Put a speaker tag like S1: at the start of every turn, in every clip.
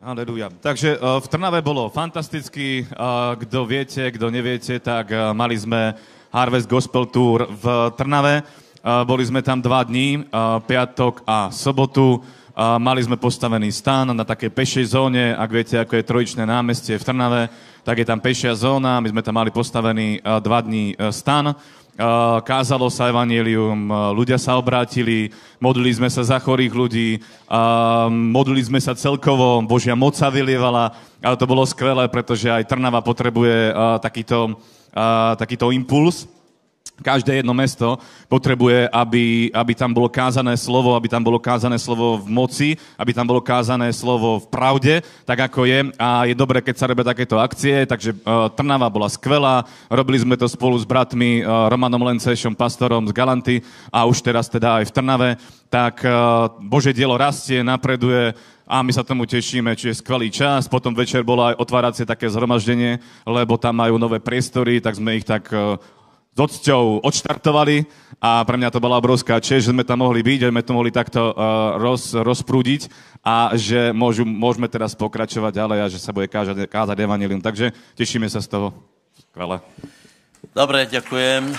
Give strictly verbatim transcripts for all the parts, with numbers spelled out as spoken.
S1: Halelúja. Takže uh, v Trnave bolo fantasticky. Uh, kto viete, kto neviete, tak uh, mali sme Harvest Gospel Tour v Trnave. Uh, boli sme tam dva dní, uh, piatok a sobotu. Uh, mali sme postavený stán na takej pešej zóne. Ak viete, ako je Trojičné námestie v Trnave, tak je tam pešia zóna. My sme tam mali postavený uh, dva dní uh, stán. Uh, kázalo sa evanjelium, uh, ľudia sa obrátili, modlili sme sa za chorých ľudí, uh, modlili sme sa celkovo, Božia moc sa vylievala, ale to bolo skvelé, pretože aj Trnava potrebuje uh, takýto, uh, takýto impuls. Každé jedno mesto potrebuje, aby, aby tam bolo kázané slovo, aby tam bolo kázané slovo v moci, aby tam bolo kázané slovo v pravde, tak ako je. A je dobré, keď sa robia takéto akcie, takže uh, Trnava bola skvelá. Robili sme to spolu s bratmi uh, Romanom Lencešom, pastorom z Galanty a už teraz teda aj v Trnave. Tak uh, Božie dielo rastie, napreduje a my sa tomu tešíme, čiže skvelý čas. Potom večer bolo aj otváracie také zhromaždenie, lebo tam majú nové priestory, tak sme ich tak... Uh, s odsťou odštartovali a pre mňa to bola obrovská česť, že sme tam mohli byť, že sme to mohli takto uh, roz, rozprúdiť a že môžu, môžeme teraz pokračovať ďalej a že sa bude kázať, kázať evanjelium. Takže tešíme sa z toho. Skvelé.
S2: Dobre, ďakujem.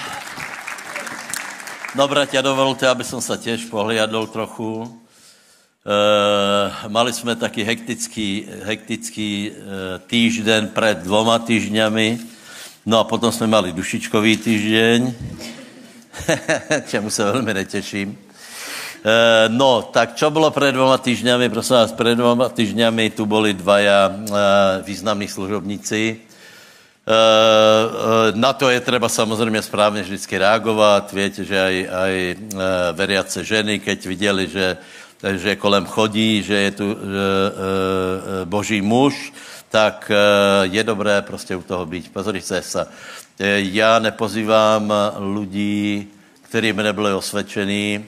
S2: Dobre, ťa dovolte, aby som sa tiež pohliadol trochu. Uh, mali sme taký hektický, hektický uh, týždeň pred dvoma týždňami. No a potom jsme mali dušičkový týždeň, čemu se velmi neteším. E, no, tak čo bylo před dvoma týždňami? Prosím vás, před dvoma týždňami tu byli dvaja e, významní služobníci. E, e, na to je třeba samozřejmě správně vždycky reagovat. Víte, že aj, aj e, veriace ženy, keď viděli, že, že kolem chodí, že je tu e, e, boží muž, tak je dobré prostě u toho být. Pozorite sa. Já nepozývám ľudí, kterým nebyli osvědčení.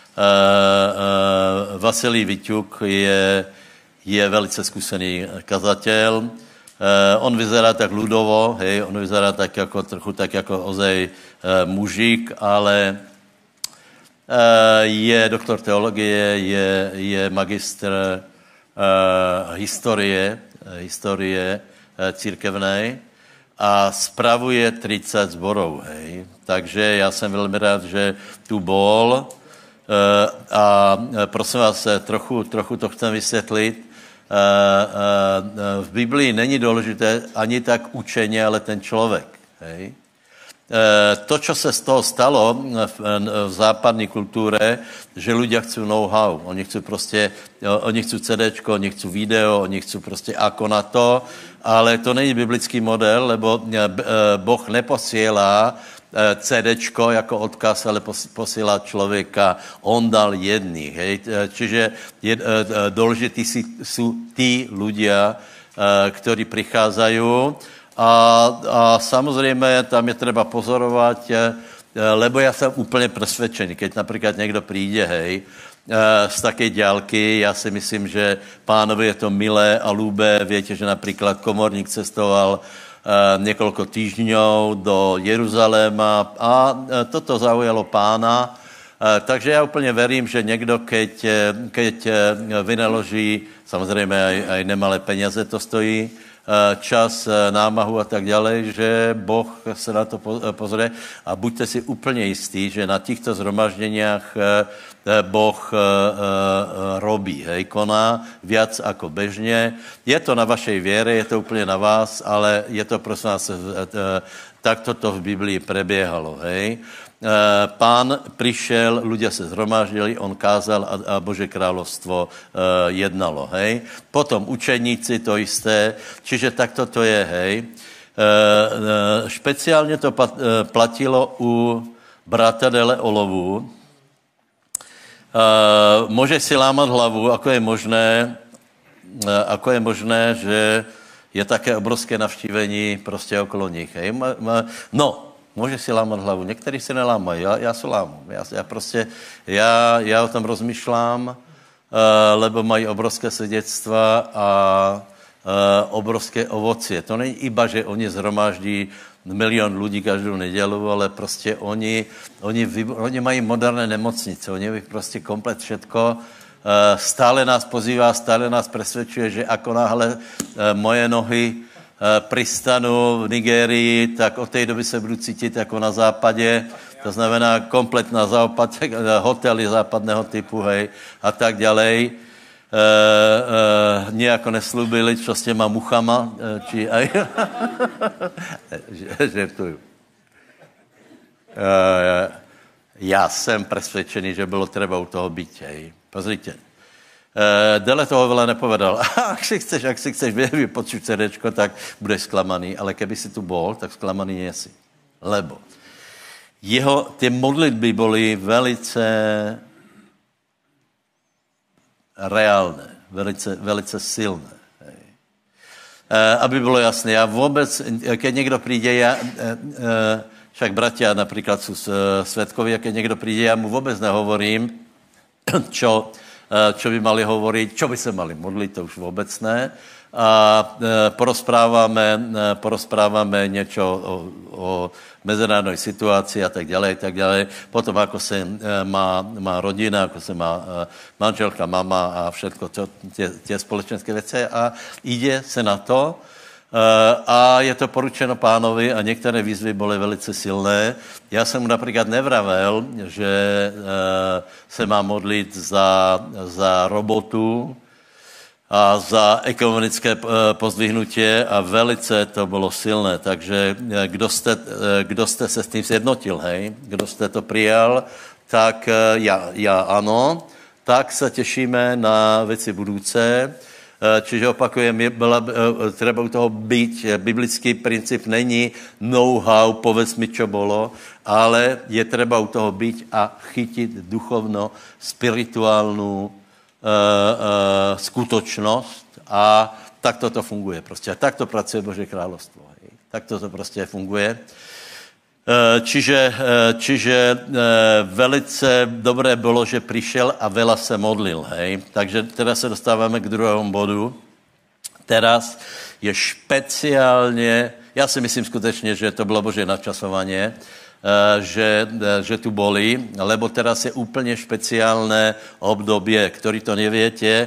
S2: Vasilij Viťuk je, je velice zkušený kazatel. On vyzerá tak ľudovo, hej, on vyzerá tak jako, trochu tak jako ozej mužík, ale je doktor teologie, je, je magistr historie, historie církevnej a spravuje tridsať zborov, hej. Takže já jsem velmi rád, že tu bol a prosím vás, trochu, trochu to chcem vysvětlit. V Biblii není důležité ani tak učení, ale ten člověk, hej. To, čo se z toho stalo v, v západní kultúre, že ľudia chcú know-how. Oni chcú prostě, oni chcú CDčko, oni chcú video, oni chcú prostě ako na to, ale to není biblický model, lebo Boh neposielá CDčko jako odkaz, ale posielá člověka. On dal jedných, hej. Čiže je, dôležití sú tí ľudia, ktorí prichádzajú. A, a samozřejmě tam je třeba pozorovat, lebo já jsem úplně presvedčený, keď například někdo přijde, hej, z také ďalky, já si myslím, že pánovi je to milé a ľúbé. Víte, že například komorník cestoval několik týždňov do Jeruzaléma a toto zaujalo pána. Takže já úplně verím, že někdo, keď, keď vynaloží, samozřejmě aj, aj nemalé peněze to stojí, čas, námahu a tak dále, že Boh se na to pozrie a buďte si úplně jistí, že na těchto zhromaždeniach Boh robí, hej, koná viac ako bežně. Je to na vašej věre, je to úplně na vás, ale je to prosím vás, takto to v Biblii prebiehalo, hej. Pán přišel, ľudia se zhromáždili, on kázal a, a Bože královstvo jednalo, hej. Potom učeníci to jisté, čiže takto to je, hej. Špeciálně to platilo u brata Dele Olovu. Může si lámat hlavu, ako je možné, ako je možné, že je také obrovské navštívení prostě okolo nich, hej. No, může si lámat hlavu. Někteří si nelámají, já, já se lámu. Já, já prostě, já, já o tom rozmýšlám, uh, lebo mají obrovské svědectva a uh, obrovské ovocie. To není iba, že oni zhromáždí milion lidí každou nedělu, ale prostě oni, oni, oni mají moderné nemocnice, oni mají prostě komplet všetko. stále nás pozývá, stále nás presvedčuje, že ako náhle moje nohy pristanu v Nigérii, tak od té doby se budu cítit jako na západě, to znamená komplet na západ, hotely západného typu, hej, a tak ďalej. E, e, nejako neslúbili, čo s těma muchama, či aj... Žertuju. E, já jsem presvedčený, že bylo treba u toho být, hej. Pozrite. E, Dele toho veľa nepovedal. Ak si chceš, ak si chceš vypočuť CDčko, tak budeš sklamaný, ale keby si tu bol, tak sklamaný nie si. Lebo jeho, ty modlitby byly velice reálné, velice, velice silné. Hej. E, aby bylo jasné, já vůbec, keď někdo přijde, já, e, e, však bratia například jsou svědkovi, a keď někdo přijde, já mu vůbec nehovorím, čo, čo by mali hovoriť, čo by se mali modlit, to už vůbec ne. A porozpráváme, porozpráváme něco o, o mezinárodní situaci a tak dále, tak dále. Potom, ako se má, má rodina, ako se má manželka, mama a všetko, to, tě, tě společenské věci a jde se na to. A je to poručeno pánovi a některé výzvy byly velice silné. Já jsem mu například nevravel, že se má modlit za, za robotu a za ekonomické pozdvihnutí a velice to bylo silné. Takže kdo jste, kdo jste se s tím sjednotil, hej? Kdo jste to přijal, tak já, já ano, tak se těšíme na věci budoucí. Čiže opakujem, byla, treba u toho být. Biblický princip není know-how, povedz mi, čo bolo, ale je treba u toho být a chytit duchovno, spirituálnu uh, uh, skutočnost a tak to funguje prostě. A tak to pracuje Boží královstvo. Hej. Tak to prostě funguje. Čiže, čiže velice dobré bylo, že přišel a veľa se modlil, hej. Takže teda se dostáváme k druhému bodu. Teraz je špeciálně, já si myslím skutečně, že to bylo Boží načasovanie, že, že tu boli, lebo teraz je úplně špeciálné obdobie, který to neviete,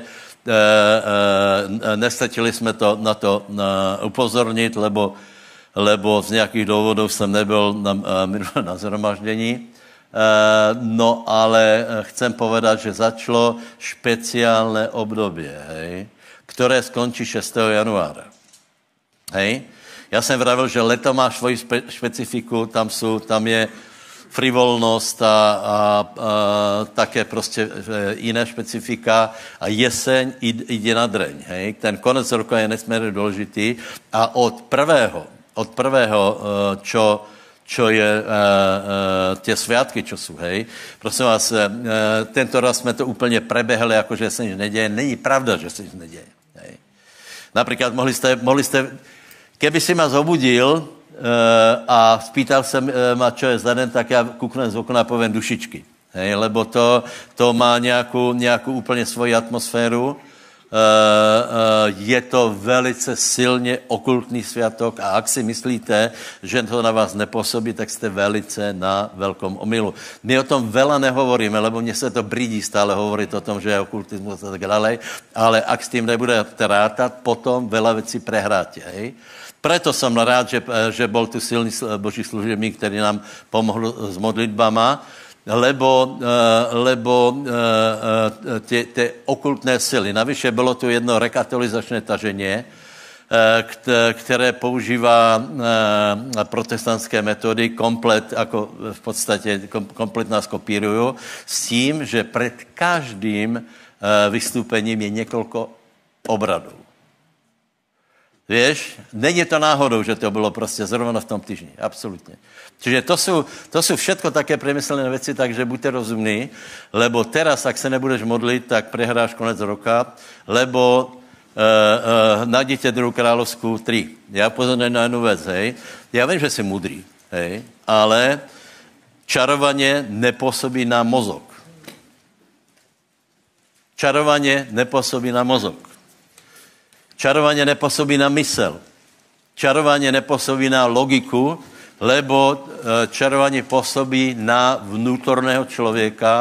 S2: nestačili jsme to na to upozornit, lebo lebo z nějakých důvodů jsem nebyl na, na zhromaždění. No ale chcem povedat, že začalo špeciálne období, hej, které skončí šestého januára. Hej. Já jsem vravil, že leto má svoji spe, špecifiku, tam, jsou, tam je frivolnost a, a, a také prostě jiné špecifika a jeseň jde na dreň. Hej. Ten konec roku je nesmírně důležitý a od prvého od prvého, čo, čo je tie sviatky, čo sú, hej. Prosím vás, tento raz jsme to úplně prebehli, jako že se nic neděje. Není pravda, že se nic neděje. Hej. Například mohli jste, mohli jste, keby si ma zobudil a spýtal jsem ma, čo je za den, tak já kuknem z okna a poviem dušičky. Hej, lebo to, to má nějakou, nějakou úplně svoji atmosféru. Uh, uh, je to velice silně okultný sviatok a ak si myslíte, že to na vás nepůsobí, tak jste velice na velkom omylu. My o tom veľa nehovoríme, lebo mně se to brídí stále hovoriť o tom, že je okultismus a tak dále, ale ak s tím nebudete rátat, potom veľa věcí prehráte. Hej? Preto jsem rád, že, že bol tu silný boží služebník, který nám pomohl s modlitbama, lebo, lebo ty, ty okultné sily. Navyše bylo tu jedno rekatolizačné taženie, které používá protestantské metody, komplet, jako v podstatě komplet nás kopírují, s tím, že před každým vystoupením je několik obradů. Víš, není to náhodou, že to bylo prostě zrovna v tom týždni, absolutně. Čiže to jsou, to jsou všetko také premyslené věci, takže buďte rozumní, lebo teraz, ak se nebudeš modlit, tak prehráš konec roka, lebo uh, uh, najdete druhou královskou tři. Já pozorňuji na jednu věc, hej. Já vím, že jsi mudrý, hej, ale čarovaně nepůsobí na mozok. Čarovaně nepůsobí na mozok. Čarovanie nepôsobí na mysel. Čarovanie nepôsobí na logiku, lebo čarovanie pôsobí na vnútorného člověka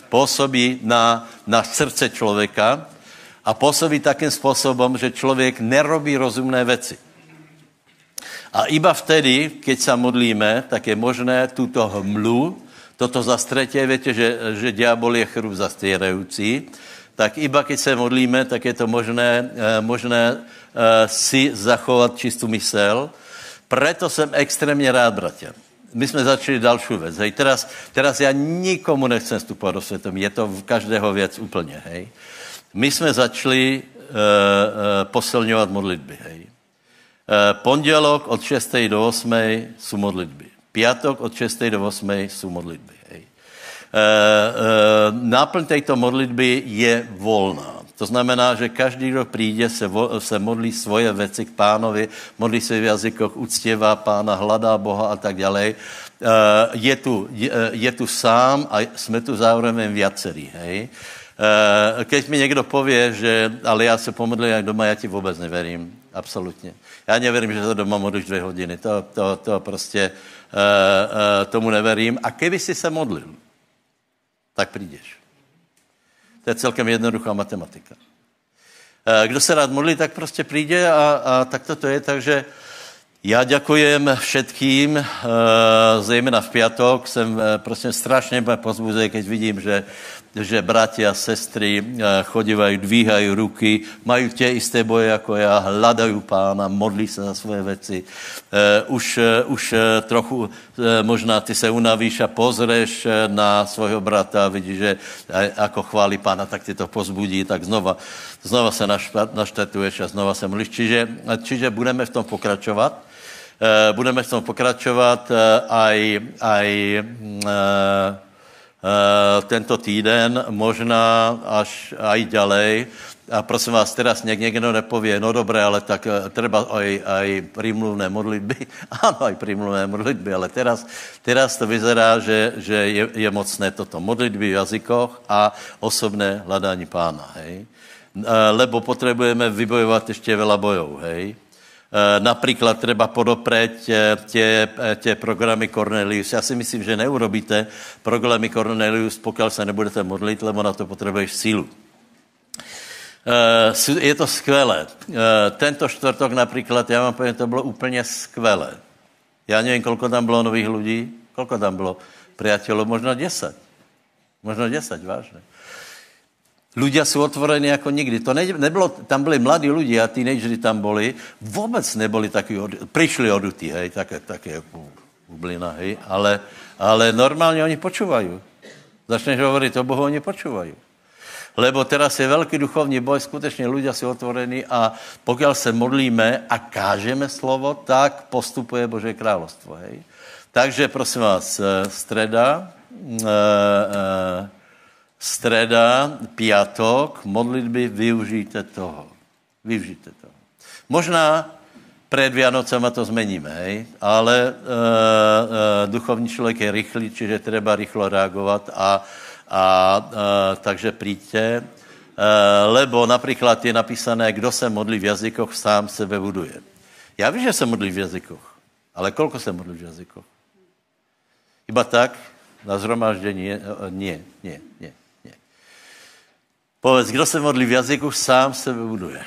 S2: pôsobí na, na srdce človeka a pôsobí takým spôsobom, že človek nerobí rozumné veci. A iba vtedy, keď sa modlíme, tak je možné túto hmlu, toto zastretie, viete, že, že diabol je chrup zastierajúci, tak iba keď sa modlíme, tak je to možné, možné si zachovať čistú mysel. Preto som extrémne rád, bratia. My sme začali ďalšiu vec. Hej. Teraz, teraz ja nikomu nechcem vstupovať do svetom. Je to v každého vec úplne. Hej. My sme začali uh, uh, posilňovať modlitby. Hej. Uh, pondelok od šiestej do ôsmej sú modlitby. Piatok od šiestej do ôsmej sú modlitby. Hej. Uh, uh, náplň tejto modlitby je voľná. To znamená, že každý, kdo príde, se, vo, se modlí svoje veci k pánovi, modlí se v jazykoch, uctievá pána, hledá Boha a tak ďalej. Uh, je, tu, je, je tu sám a sme tu zároveň viacerí. Hej? Uh, keď mi niekto povie, že ale ja sa pomodlím aj doma, ja ti vôbec neverím. Absolutně. Já neverím, že se doma modlíš dvě hodiny. To, to, to prostě uh, uh, tomu neverím. A keby si se modlil, tak přijdeš. To je celkem jednoduchá matematika. Kdo se rád modlí, tak prostě přijde a, a tak to je. Takže já děkujem všetkým, zejména v piatok. Jsem prostě strašně pozbuzený, keď vidím, že, že bratia a sestry chodívají, dvíhají ruky, mají tie isté boje jako já, hľadají pána, modlí se za svoje věci. Už, už trochu možná ty se unavíš a pozřeš na svojho brata a vidíš, že ako chválí pána, tak ti to pozbudí, tak znova, znova se naštetuješ a znova se modlíš. Čiže, čiže budeme v tom pokračovat. Budeme v tom pokračovat aj, aj tento týden, možná až aj ďalej. A prosím vás, teraz něk, někdo nepovie, no dobré, ale tak treba aj, aj prímluvné modlitby. Áno, aj prímluvné modlitby, ale teraz, teraz to vyzerá, že, že je, je mocné toto. Modlitby v jazykoch a osobné hľadání pána, hej. Lebo potrebujeme vybojovat ještě veľa bojov, hej. Napríklad treba podopreť tie, tie programy Cornelius. Ja si myslím, že neurobíte programy Cornelius, pokiaľ sa nebudete modliť, lebo na to potrebuješ sílu. Je to skvelé. Tento štvrtok napríklad, ja vám poviem, to bylo úplně skvelé. Ja neviem, koľko tam bylo nových ľudí. Koľko tam bylo priateľov? Možno desať. Možno desať, vážne. Ľudia sú otvorení ako nikdy. To ne, nebylo, tam byli mladí ľudia, teenagery tam boli, vôbec neboli takí, prišli odutí, hej, také, také bublina, hej, ale, ale normálne oni počúvajú. Začneš hovoriť o Bohu, oni počúvajú. Lebo teraz je veľký duchovní boj, skutečne ľudia sú otvorení a pokiaľ sa modlíme a kážeme slovo, tak postupuje Božie kráľovstvo, hej. Takže prosím vás, streda, e, e, streda, piatok, modlitby, využijte toho. Využijte toho. Možná pred Vianocama to zmeníme, hej? Ale e, e, duchovní člověk je rychlý, čiže treba rychlo reagovat a, a e, takže príďte, e, lebo napríklad je napísané, kdo se modlí v jazykoch, sám sebe buduje. Já vím, že se modlí v jazykoch, ale kolko se modlí v jazykoch? Iba tak, na zhromaždení, nie, nie, nie. Povedz, kdo se modlí v jazyku, sám sebe buduje.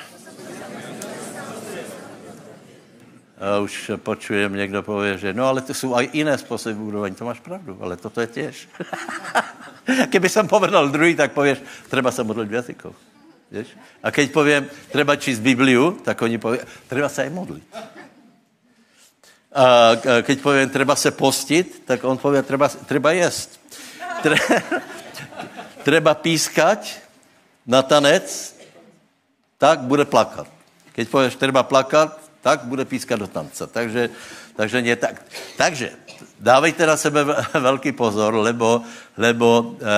S2: A už počujem, někdo povie, že no, ale to jsou aj jiné způsoby budování. To máš pravdu, ale toto je těž. Keby jsem povedal druhý, tak povieš, treba se modlit v jazykoch. Víš? A keď poviem, treba číst Bibliu, tak oni povie, treba se aj modlit. A keď poviem, treba se postit, tak on povie, treba, treba jesť. Tre, treba pískať na tanec, tak bude plakat. Keď povieš, treba plakat, tak bude pískat do tanca. Takže, takže nie tak. Takže dávejte na sebe velký pozor, lebo, lebo e, e,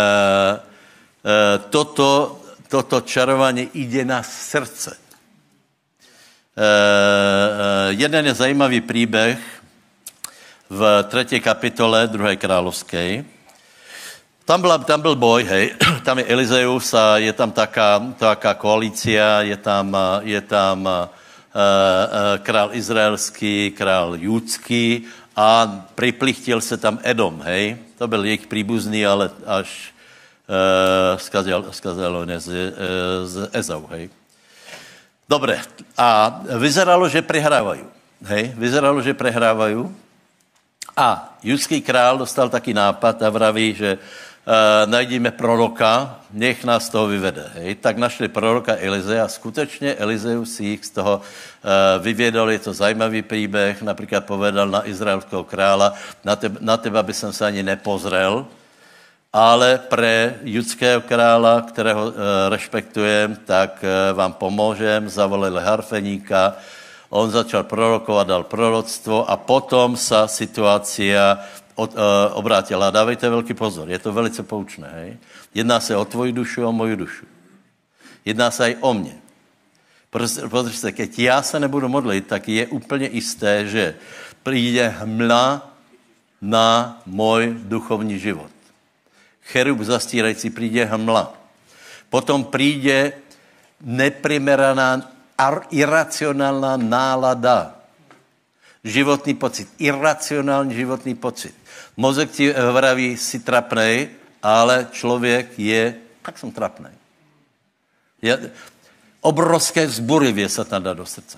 S2: toto, toto čarovanie ide na srdce. E, e, jeden je zajímavý príbeh v třetí kapitole druhé královskej. Tam, byla, tam byl boj, hej, tam je Elizeus a je tam taká, taká koalícia, je tam, je tam uh, uh, král izraelský, král judský a priplichtil se tam Edom, hej. To byl jejich príbuzný, ale až, skazil, skazil on z, z Ezau, hej. Dobre, a vyzeralo, že prehrávajú, hej, vyzeralo, že prehrávajú a judský král dostal taký nápad a vraví, že uh, najdíme proroka, nech nás z toho vyvede, hej. Tak našli proroka Elizea a skutečne Elizeus si ich z toho uh, vyviedol, je to zajímavý príbeh, napríklad povedal na izraelského kráľa, na, teba, na teba by som sa ani nepozrel, ale pre judského kráľa, ktorého e, rešpektujem, tak e, vám pomôžem, zavolali harfeníka, on začal prorokovať, dal proroctvo a potom sa situácia od, e, obrátila. Dávejte veľký pozor, je to velice poučné, hej? Jedná sa o tvoju dušu a o moju dušu. Jedná sa aj o mne. Pozrite sa, keď ja sa nebudu modliť, tak je úplne isté, že príde hmla na môj duchovní život. Cherub zastírající, príde hmla. Potom príde neprimeraná, iracionálna nálada. Životný pocit. Iracionálny životný pocit. Mozek ti vraví, si trapnej, ale človek je, tak som trapnej. Je, obrovské vzburivie sa tam dá do srdca.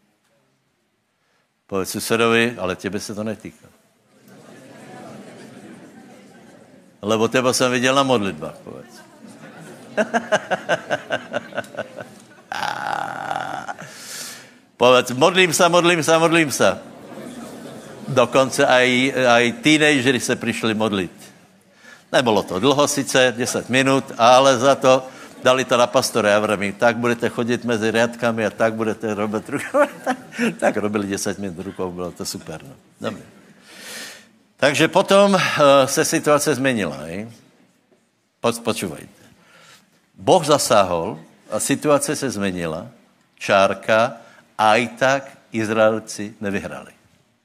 S2: Povedz susedovi, ale tebe se to netýká. Lebo teba som videl na modlitbách, povedz. Povedz, modlím sa, modlím sa, modlím sa. Dokonce aj, aj teenagery sa prišli modliť. Nebolo to dlho síce, desať minút, ale za to dali to na pastore a vremi. Tak budete chodiť medzi riadkami a tak budete robiť rukou. Tak robili desať minút rukou, bylo to super. No. Dobre. Takže potom uh, se situace zmenila. Hej? Po, počúvajte. Boh zasáhol a situace se zmenila. Čárka, aj tak Izraelci nevyhrali.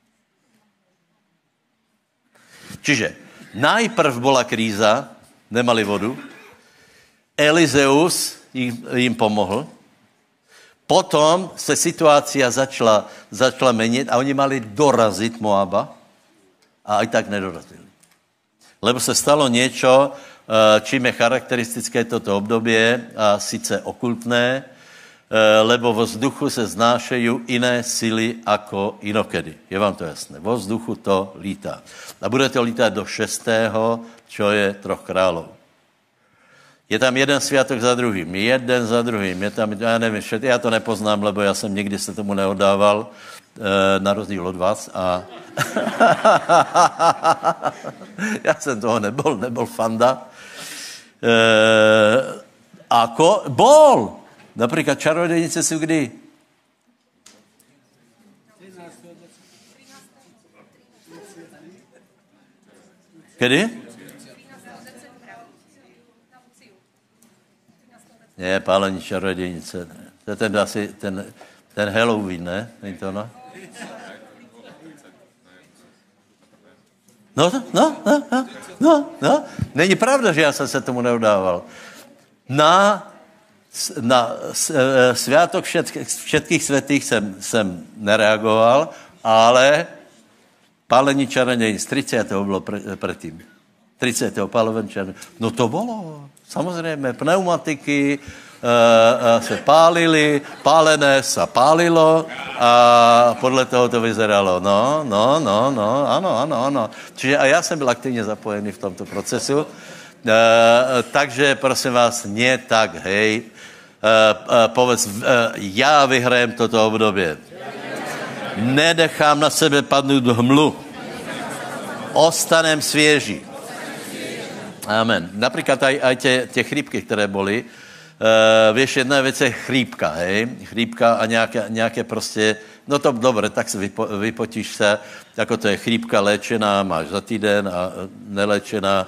S2: Čiže najprv bola kríza, nemali vodu, Elizeus im, im pomohl, potom se situácia začala, začala meniť a oni mali dorazit Moaba, a aj tak nedorazili. Lebo sa stalo niečo, čím je charakteristické toto obdobie, a síce okultné, lebo vo vzduchu se znášajú iné sily ako inokedy. Je vám to jasné? Vo vzduchu to lítá. A bude to lítať do šestého, čo je troch kráľov. Je tam jeden sviatok za druhým, jeden za druhým. Je tam, ja neviem, ja to nepoznám, lebo ja som nikdy sa tomu neodával, na rozdíl od vás a ja som toho nebol, nebol fanda. E, ako? Bol! Napríklad čarodejnice sú kdy? Kedy? Nie, pálení čarodejnice. To je ten asi, ten, ten Halloween, ne? Není to ono? No, no, no, no, no, no. Není pravda, že já jsem se tomu neudával. Na, na sviatok všetkých, všetkých svätých jsem, jsem nereagoval, ale pálení čarodejnic, tridsiateho bylo pre, predtým. tridsiateho pálovení čarodejnic. No to bolo, samozřejmě, pneumatiky, Uh, uh, se pálili, pálené sa pálilo a podle toho to vyzeralo. No, no, no, no, ano, ano, ano. Čiže a já jsem byl aktivně zapojený v tomto procesu. Uh, takže, prosím vás, nie tak, hej. Uh, uh, povedz, uh, já vyhrajem toto období. Nedechám na sebe padnout hmlu. Ostanem svěží. Amen. Například aj, aj tie, tie chrípky, které boli, Uh, vieš, jedna vec je chrípka, hej, chrípka a nejaké, nejaké proste, no to dobre, tak si vypo, vypotíš sa, ako to je chrípka léčená, máš za týden a neléčená,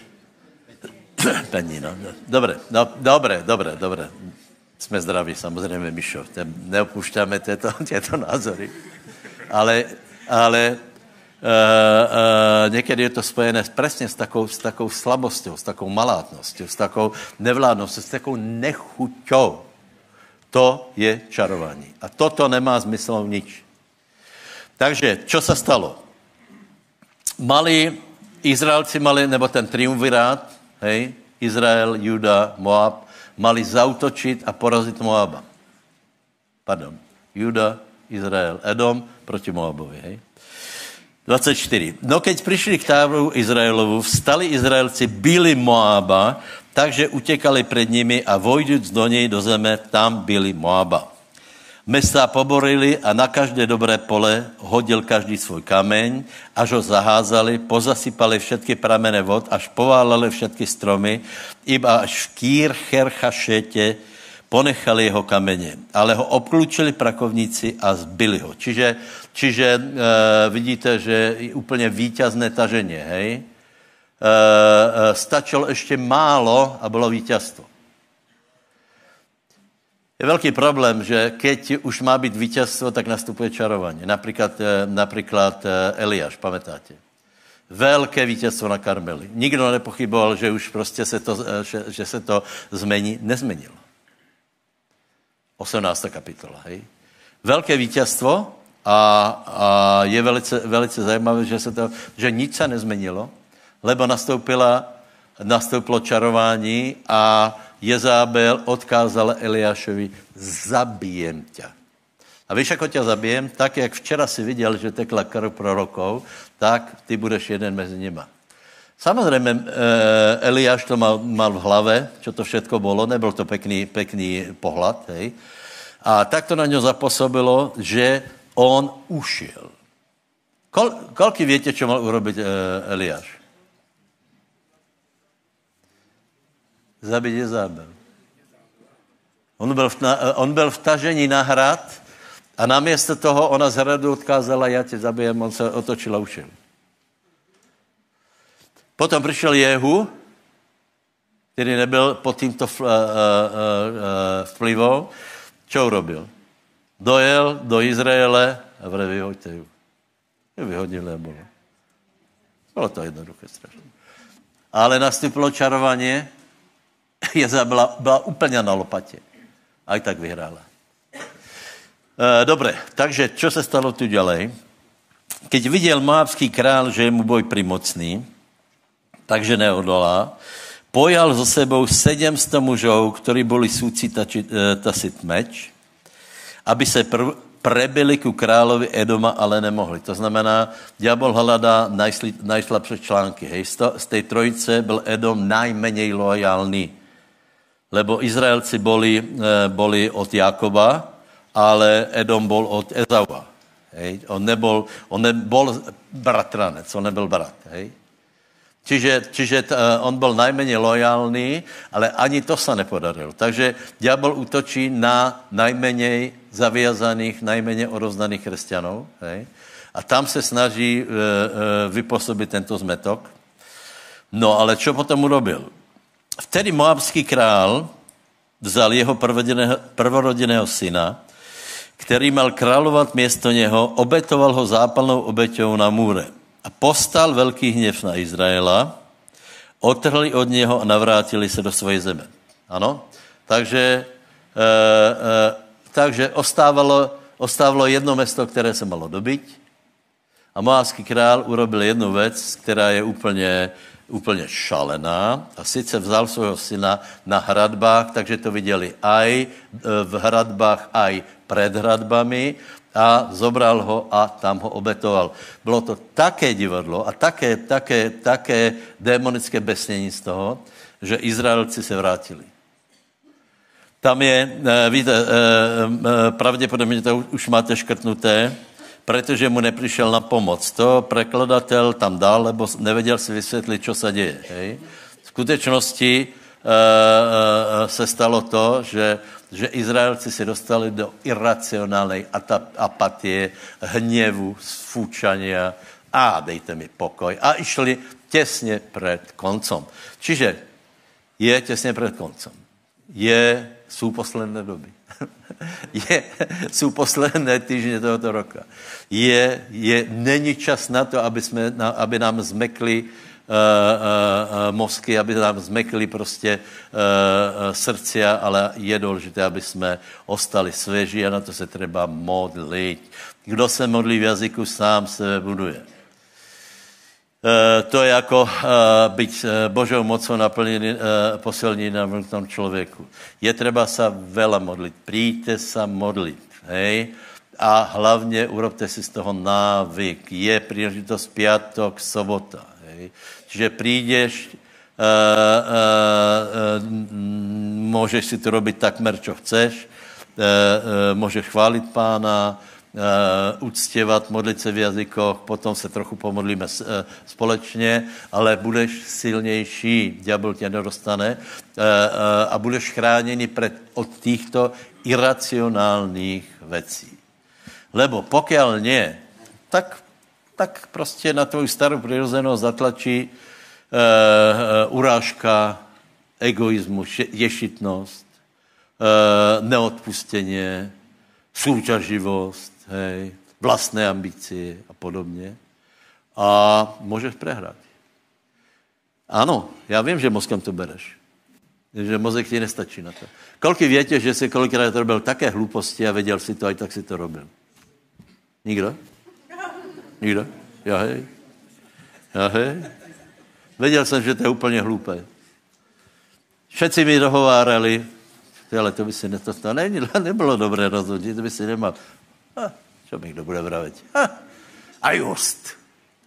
S2: pení, no, dobre, no, dobre, dobre, dobre, sme zdraví, samozrejme, Mišo, neopúšťame tieto, tieto názory, ale, ale Uh, uh, niekedy je to spojené presne s takou, s takou slabosťou, s takou malátnosťou, s takou nevládnosťou, s takou nechuťou. To je čarování. A toto nemá zmysel nič. Takže, čo sa stalo? Mali, Izraelci mali, nebo ten triumvirát, hej, Izrael, Juda, Moab, mali zautočit a porazit Moaba. Pardon. Juda, Izrael, Edom proti Moabovi, hej. dvacet čtyři. No keď prišli k táboru Izraelovu, vstali Izraelci, byli Moaba, takže utekali pred nimi a vojduc do nej do zeme, tam byli Moaba. Mestá poborili a na každé dobré pole hodil každý svoj kameň, až ho zaházali, pozasypali všetky pramene vod, až poválali všetky stromy, iba až v Kýr Cherchašete ponechali jeho kamene. Ale ho obklúčili prakovníci a zbili ho. Čiže, čiže e, vidíte, že je úplne víťazné taženie, hej? E, e, stačilo ešte málo a bylo víťazstvo. Je veľký problém, že keď už má byť víťazstvo, tak nastupuje čarovanie. Napríklad, napríklad Eliáš, pamätáte? Veľké víťazstvo na Karmeli. Nikdo nepochyboval, že už prostě se to, že, že se to zmení. Nezmenilo. osemnáctá kapitola, hej? Veľké víťazstvo a, a je velice, velice zajímavé, že, se to, že nič sa nezmenilo, lebo nastoupila, nastoupilo čarování a Jezábel odkázala Eliášovi, zabijem ťa. A víš, ako ťa zabijem? Tak, jak včera si viděl, že tekla krv prorokov, tak ty budeš jeden mezi nima. Samozrejme, Eliáš to mal, mal v hlave, čo to všetko bolo, nebyl to pekný, pekný pohľad, hej. A tak to na ňo zapôsobilo, že on ušiel. Kol, koľky viete, čo mal urobiť Eliáš? Zabiť Jezábel. On byl, v, on byl v tažení na hrad a namiesto toho ona z hradu odkázala, ja tě zabijem, on se otočil a ušel. Potom přišel Jehu, který nebyl pod týmto vplyvom. Čo urobil? Dojel do Izraele a vre, vyhoďte ju. Ju vyhodili a bolo. Bylo to jednoduché strašně. Ale nastupilo čarovanie. Jezabela byla úplně na lopatě. A i tak vyhrála. E, dobre, takže čo se stalo tu ďalej? Keď viděl moabský král, že je mu boj primocný, takže neodolá, pojal so sebou sedemsto mužov, ktorí boli súci tači, e, tasit meč, aby se pr- prebili ku královi Edoma, ale nemohli. To znamená, diabol hľadá najsli- najslabšie články. Hej. Z, to, z tej trojice byl Edom najmenej lojálny. Lebo Izraelci boli, e, boli od Jakoba, ale Edom bol od Ezaua. Hej. On nebol, on nebol bratranec, on nebyl brat. Hej. Čiže, čiže t, on bol najmenej lojálny, ale ani to sa nepodarilo. Takže diabol útočí na najmenej zaviazaných, najmenej odovzdaných kresťanov. Hej. A tam se snaží e, e, vypôsobiť tento zmetok. No, ale čo potom urobil? Vtedy moabský král vzal jeho prvorodeného syna, který mal kráľovať miesto něho, obetoval ho zápalnou obeťou na múre. A postal veľký hněv na Izraela, otrhli od něho a navrátili se do svojej zeme. Ano? Takže, e, e, takže ostávalo, ostávalo jedno mesto, které se malo dobiť. A moabský král urobil jednu vec, která je úplně... úplně šalená a sice vzal svojho syna na hradbách, takže to viděli aj v hradbách, aj pred hradbami a zobral ho a tam ho obetoval. Bylo to také divadlo a také, také, také démonické besnění z toho, že Izraelci se vrátili. Tam je, víte, pravděpodobně to už máte škrtnuté, protože mu neprišiel na pomoc. To prekladatel tam dal, lebo nevedel si vysvětlit, čo sa děje. Hej. V skutečnosti e, e, se stalo to, že, že Izraelci se dostali do iracionálnej apatie, hněvu, sfúčania a dejte mi pokoj. A išli těsně před koncom. Čiže je těsně před koncom. Je, sú posledné doby. Je, sú posledné týždne tohoto roka. Je, je, není čas na to, aby, jsme, na, aby nám zmekli uh, uh, uh, mozky, aby nám zmekli prostě uh, uh, srdcia, ale je důležité, aby jsme ostali svěží a na to se treba modlit. Kdo se modlí v jazyku, sám se buduje. to je ako byť Božou mocou naplnený, posilný na vnútornom človeku. Je treba sa veľa modliť. Príďte sa modliť. Hej? A hlavne urobte si z toho návyk. Je príležitosť piatok, sobota. Hej? Čiže prídeš, uh, uh, uh, môžeš si to robiť takmer, čo chceš. Uh, uh, môžeš chváliť Pána, Uh, uctievať, modliť sa v jazykoch, potom sa trochu pomodlíme uh, společne, ale budeš silnější, diabol ťa nedostane uh, uh, a budeš chránený pred, od týchto iracionálnych vecí. Lebo pokiaľ nie, tak, tak prostě na tvoju starou prirozenosť zatlačí uh, uh, urážka, egoizmus, ješitnosť, uh, neodpustenie, súťaživosť, hej, vlastné ambície a podobně. A můžeš prehrať. Ano, já vím, že mozkem to bereš. Že mozek ti nestačí na to. Koľko viete, že si kolikrát robil také hlúposti a věděl si to, aj tak si to robil? Nikdo? Nikdo? Já hej. Já hej. Věděl jsem, že to je úplně hlúpe. Všetci mi dohovárali, ale to by si ne, to, to ne, nebylo dobré rozhodnutí, to by si nemal. Ha, čo mi kdo bude vraviť? Ha, a just.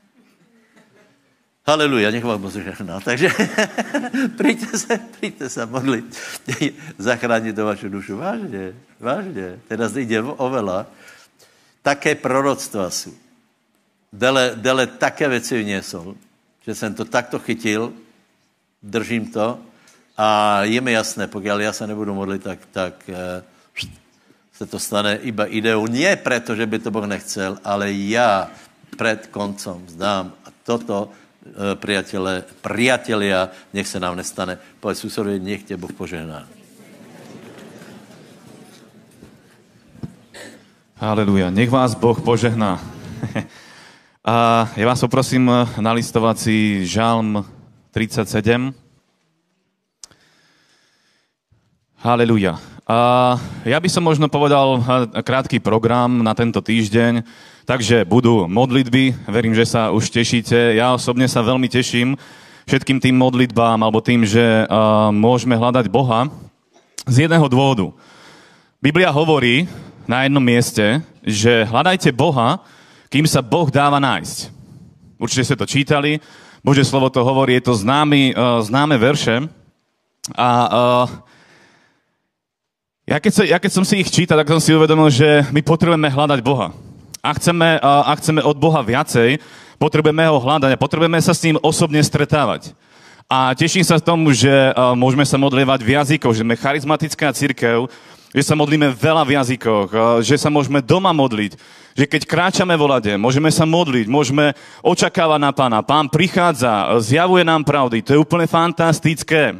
S2: Haleluja, nech vám Boh žehná. Takže príďte sa, príďte sa modliť. Zachrániť to vašu dušu. Vážne, vážne. Teraz ide oveľa. Také proroctva sú. Dele, dele také veci vniesol, že jsem to takto chytil, držím to a je mi jasné, pokiaľ ja sa nebudu modliť, tak, tak se to stane iba ideou. Nie preto, že by to Boh nechcel, ale ja pred koncom vzdám. A toto, priatele, priatelia, nech se nám nestane. Povedz susedovi, nech tě Boh požehná.
S1: Haleluja. Nech vás Boh požehná. A ja vás poprosím nalistovať si Žalm tridsaťsedem. Haleluja. A ja by som možno povedal krátky program na tento týždeň, takže budú modlitby, verím, že sa už tešíte. Ja osobne sa veľmi teším všetkým tým modlitbám, alebo tým, že uh, môžeme hľadať Boha z jedného dôvodu. Biblia hovorí na jednom mieste, že hľadajte Boha, kým sa Boh dáva nájsť. Určite ste to čítali, Božie slovo to hovorí, je to známy, uh, známe verše a uh, Ja keď, sa, ja keď som si ich čítal, tak som si uvedomil, že my potrebujeme hľadať Boha. A chceme, a chceme od Boha viacej, potrebujeme ho hľadať a potrebujeme sa s ním osobne stretávať. A teším sa tomu, že môžeme sa modlievať v jazykoch, že sme charizmatická cirkev, že sa modlíme veľa v jazykoch, že sa môžeme doma modliť, že keď kráčame vo lade, môžeme sa modliť, môžeme očakávať na Pána. Pán prichádza, zjavuje nám pravdy, to je úplne fantastické.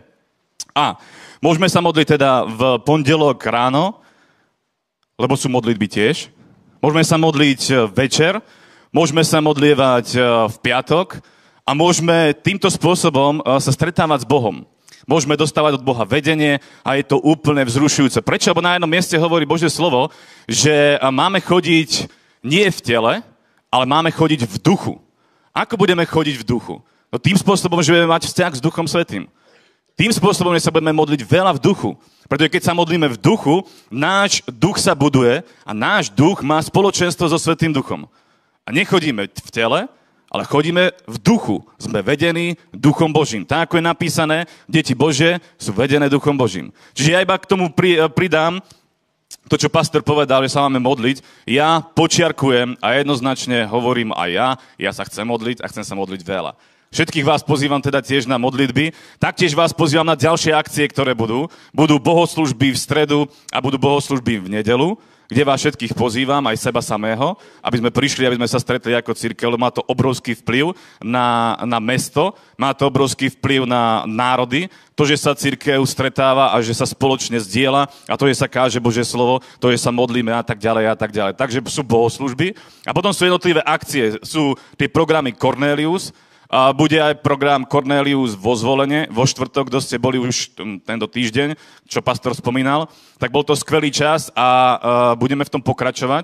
S1: A môžeme sa modliť teda v pondelok ráno, lebo sú modlitby tiež. Môžeme sa modliť večer, môžeme sa modlievať v piatok a môžeme týmto spôsobom sa stretávať s Bohom. Môžeme dostávať od Boha vedenie a je to úplne vzrušujúce. Prečo? Lebo na jednom mieste hovorí Božie slovo, že máme chodiť nie v tele, ale máme chodiť v duchu. Ako budeme chodiť v duchu? No tým spôsobom, že budeme mať vzťah s Duchom Svätým. Tým spôsobom, že sa budeme modliť veľa v duchu. Pretože keď sa modlíme v duchu, náš duch sa buduje a náš duch má spoločenstvo so Svätým Duchom. A nechodíme v tele, ale chodíme v duchu. Sme vedení Duchom Božím. Tak, ako je napísané, deti Božie sú vedené Duchom Božím. Čiže ja iba k tomu pridám to, čo pastor povedal, že sa máme modliť. Ja počiarkujem a jednoznačne hovorím aj ja, ja sa chcem modliť a chcem sa modliť veľa. Všetkých vás pozývam teda tiež na modlitby. Taktiež vás pozývam na ďalšie akcie, ktoré budú. Budú bohoslužby v stredu a budú bohoslužby v nedelu, kde vás všetkých pozývam, aj seba samého, aby sme prišli, aby sme sa stretli ako cirkev. Má to obrovský vplyv na, na mesto, má to obrovský vplyv na národy, to, že sa cirkev stretáva a že sa spoločne zdieľa a to, že sa káže Božie slovo, to, že sa modlíme a tak ďalej a tak ďalej. Takže sú bohoslužby a potom sú jednotlivé akcie. Sú tie programy Cornelius. A bude aj program Cornelius vo Zvolenie, vo štvrtok, kto ste boli už tento týždeň, čo pastor spomínal, tak bol to skvelý čas a uh, budeme v tom pokračovať.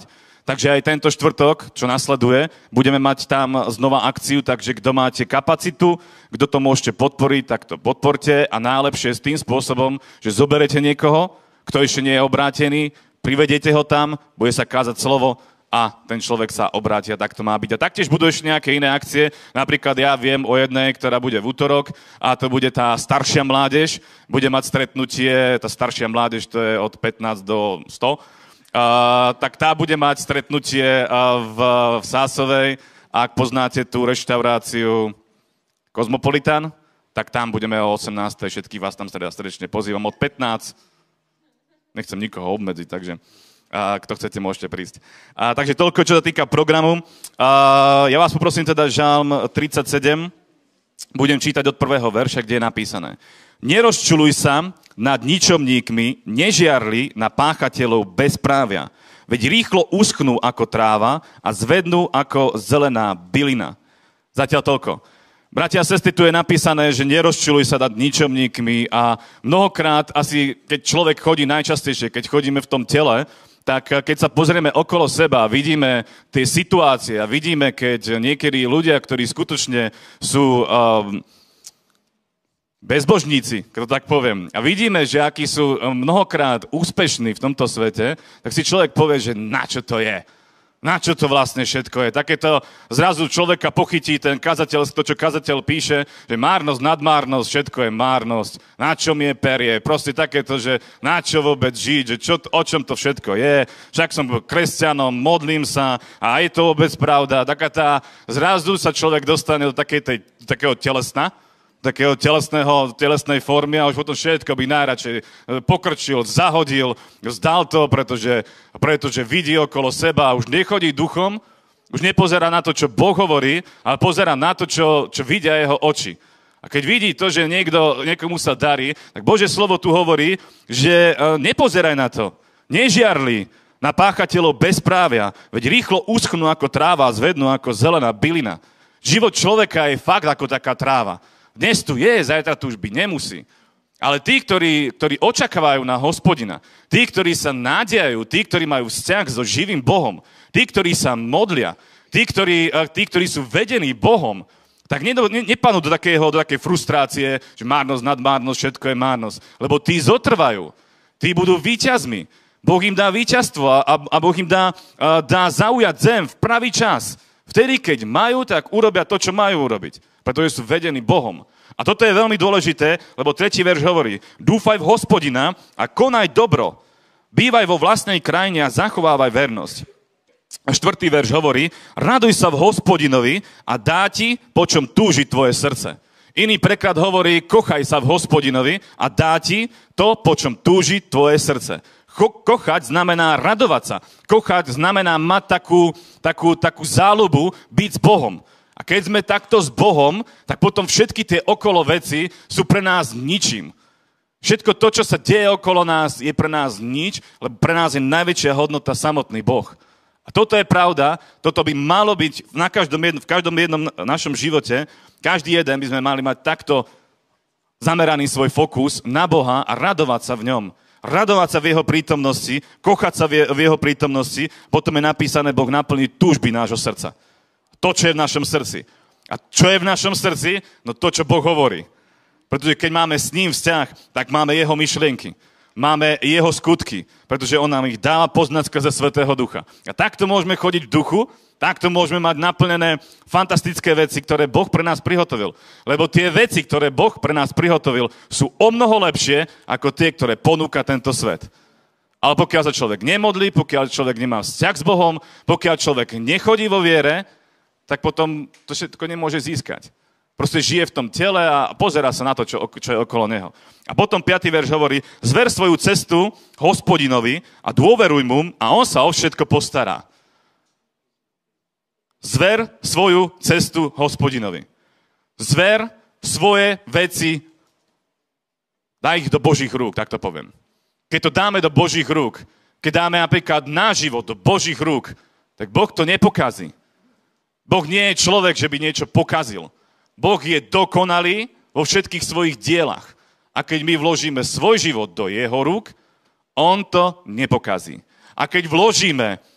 S1: Takže aj tento štvrtok, čo nasleduje, budeme mať tam znova akciu, takže kto máte kapacitu, kto to môžete podporiť, tak to podporte a najlepšie s tým spôsobom, že zoberete niekoho, kto ešte nie je obrátený, privediete ho tam, bude sa kázať slovo a ten človek sa obráti a tak to má byť. A taktiež budú ešte nejaké iné akcie, napríklad ja viem o jednej, ktorá bude v útorok a to bude tá staršia mládež, bude mať stretnutie, tá staršia mládež to je od pätnásť do sto. Uh, tak tá bude mať stretnutie uh, v, v Sásovej. Ak poznáte tú reštauráciu Kozmopolitan, tak tam budeme o osemnástej. Všetkých vás tam srdečne pozývam od pätnásť. Nechcem nikoho obmedziť, takže uh, kto chcete, môžete prísť. Uh, takže toľko, čo sa týka programu. Uh, ja vás poprosím teda Žalm tridsaťsedem. Budem čítať od prvého verša, kde je napísané. Nerozčuľuj sa nad ničomníkmi, nežiarli na páchateľov bezprávia. Veď rýchlo uschnú ako tráva a zvednú ako zelená bylina. Zatiaľ toľko. Bratia a sestry, tu je napísané, že nerozčuľuj sa nad ničomníkmi a mnohokrát asi, keď človek chodí najčastejšie, keď chodíme v tom tele, tak keď sa pozrieme okolo seba, vidíme tie situácie a vidíme, keď niekedy ľudia, ktorí skutočne sú um, bezbožníci, keď to tak poviem, a vidíme, že akí sú mnohokrát úspešní v tomto svete, tak si človek povie, že na čo to je? Na čo to vlastne všetko je? Takéto zrazu človeka pochytí ten kazateľ, to, čo kazateľ píše, že márnosť, nadmárnosť, všetko je márnosť. Na čom je perie? Proste takéto, že na čo vôbec žiť, že čo, o čom to všetko je. Však som kresťanom, modlím sa a je to vôbec pravda. Taká tá, zrazu sa človek dostane do takej tej, takého telesna, takého telesného, telesnej formy a už potom všetko by najradšej pokrčil, zahodil, vzdal to, pretože, pretože vidí okolo seba a už nechodí duchom, už nepozerá na to, čo Boh hovorí, ale pozerá na to, čo, čo vidia jeho oči. A keď vidí to, že niekto, niekomu sa darí, tak Božie slovo tu hovorí, že nepozeraj na to, nežiarli na páchateľov bezprávia, veď rýchlo uschnú ako tráva a zvednú ako zelená bylina. Život človeka je fakt ako taká tráva. Dnes tu je, zajtra tu už byť nemusí. Ale tí, ktorí, ktorí očakávajú na Hospodina, tí, ktorí sa nádejajú, tí, ktorí majú vzťah so živým Bohom, tí, ktorí sa modlia, tí, ktorí, tí, ktorí sú vedení Bohom, tak nepadnú do, takého, do takej frustrácie, že márnosť, nadmárnosť, všetko je márnosť. Lebo tí zotrvajú, tí budú víťazmi. Boh im dá víťazstvo a, a Boh im dá, dá zaujať zem v pravý čas. Vtedy, keď majú, tak urobia to, čo majú urobiť. Pretože sú vedení Bohom. A toto je veľmi dôležité, lebo tretí verš hovorí, dúfaj v Hospodina a konaj dobro. Bývaj vo vlastnej krajine a zachovávaj vernosť. A štvrtý verš hovorí, raduj sa v Hospodinovi a dá ti, po čom túži tvoje srdce. Iný preklad hovorí, kochaj sa v Hospodinovi a dá ti to, po čom túži tvoje srdce. Ko- kochať znamená radovať sa. Kochať znamená mať takú, takú, takú záľubu byť s Bohom. A keď sme takto s Bohom, tak potom všetky tie okolo veci sú pre nás ničím. Všetko to, čo sa deje okolo nás, je pre nás nič, lebo pre nás je najväčšia hodnota samotný Boh. A toto je pravda, toto by malo byť na každom jednom, v každom jednom našom živote. Každý jeden by sme mali mať takto zameraný svoj fokus na Boha a radovať sa v ňom. Radovať sa v jeho prítomnosti, kochať sa v jeho prítomnosti, potom je napísané, Boh naplní túžby nášho srdca. To, čo je v našom srdci. A čo je v našom srdci? No to, čo Boh hovorí. Pretože keď máme s ním vzťah, tak máme jeho myšlienky. Máme jeho skutky. Pretože on nám ich dáva poznať skrze Svätého Ducha. A takto môžeme chodiť v duchu, takto môžeme mať naplnené fantastické veci, ktoré Boh pre nás prihotovil. Lebo tie veci, ktoré Boh pre nás prihotovil, sú o mnoho lepšie, ako tie, ktoré ponúka tento svet. Ale pokiaľ sa človek nemodlí, pokiaľ človek nemá vzťah s Bohom, pokiaľ človek nechodí vo viere, tak potom to všetko nemôže získať. Proste žije v tom tele a pozerá sa na to, čo, čo je okolo neho. A potom piaty verš hovorí, zver svoju cestu Hospodinovi a dôveruj mu a on sa o všetko postará. Zver svoju cestu Hospodinovi. Zver svoje veci, daj ich do Božích rúk, tak to poviem. Keď to dáme do Božích rúk, keď dáme napríklad náš život do Božích rúk, tak Boh to nepokazí. Boh nie je človek, že by niečo pokazil. Boh je dokonalý vo všetkých svojich dielach. A keď my vložíme svoj život do jeho rúk, on to nepokazí. A keď vložíme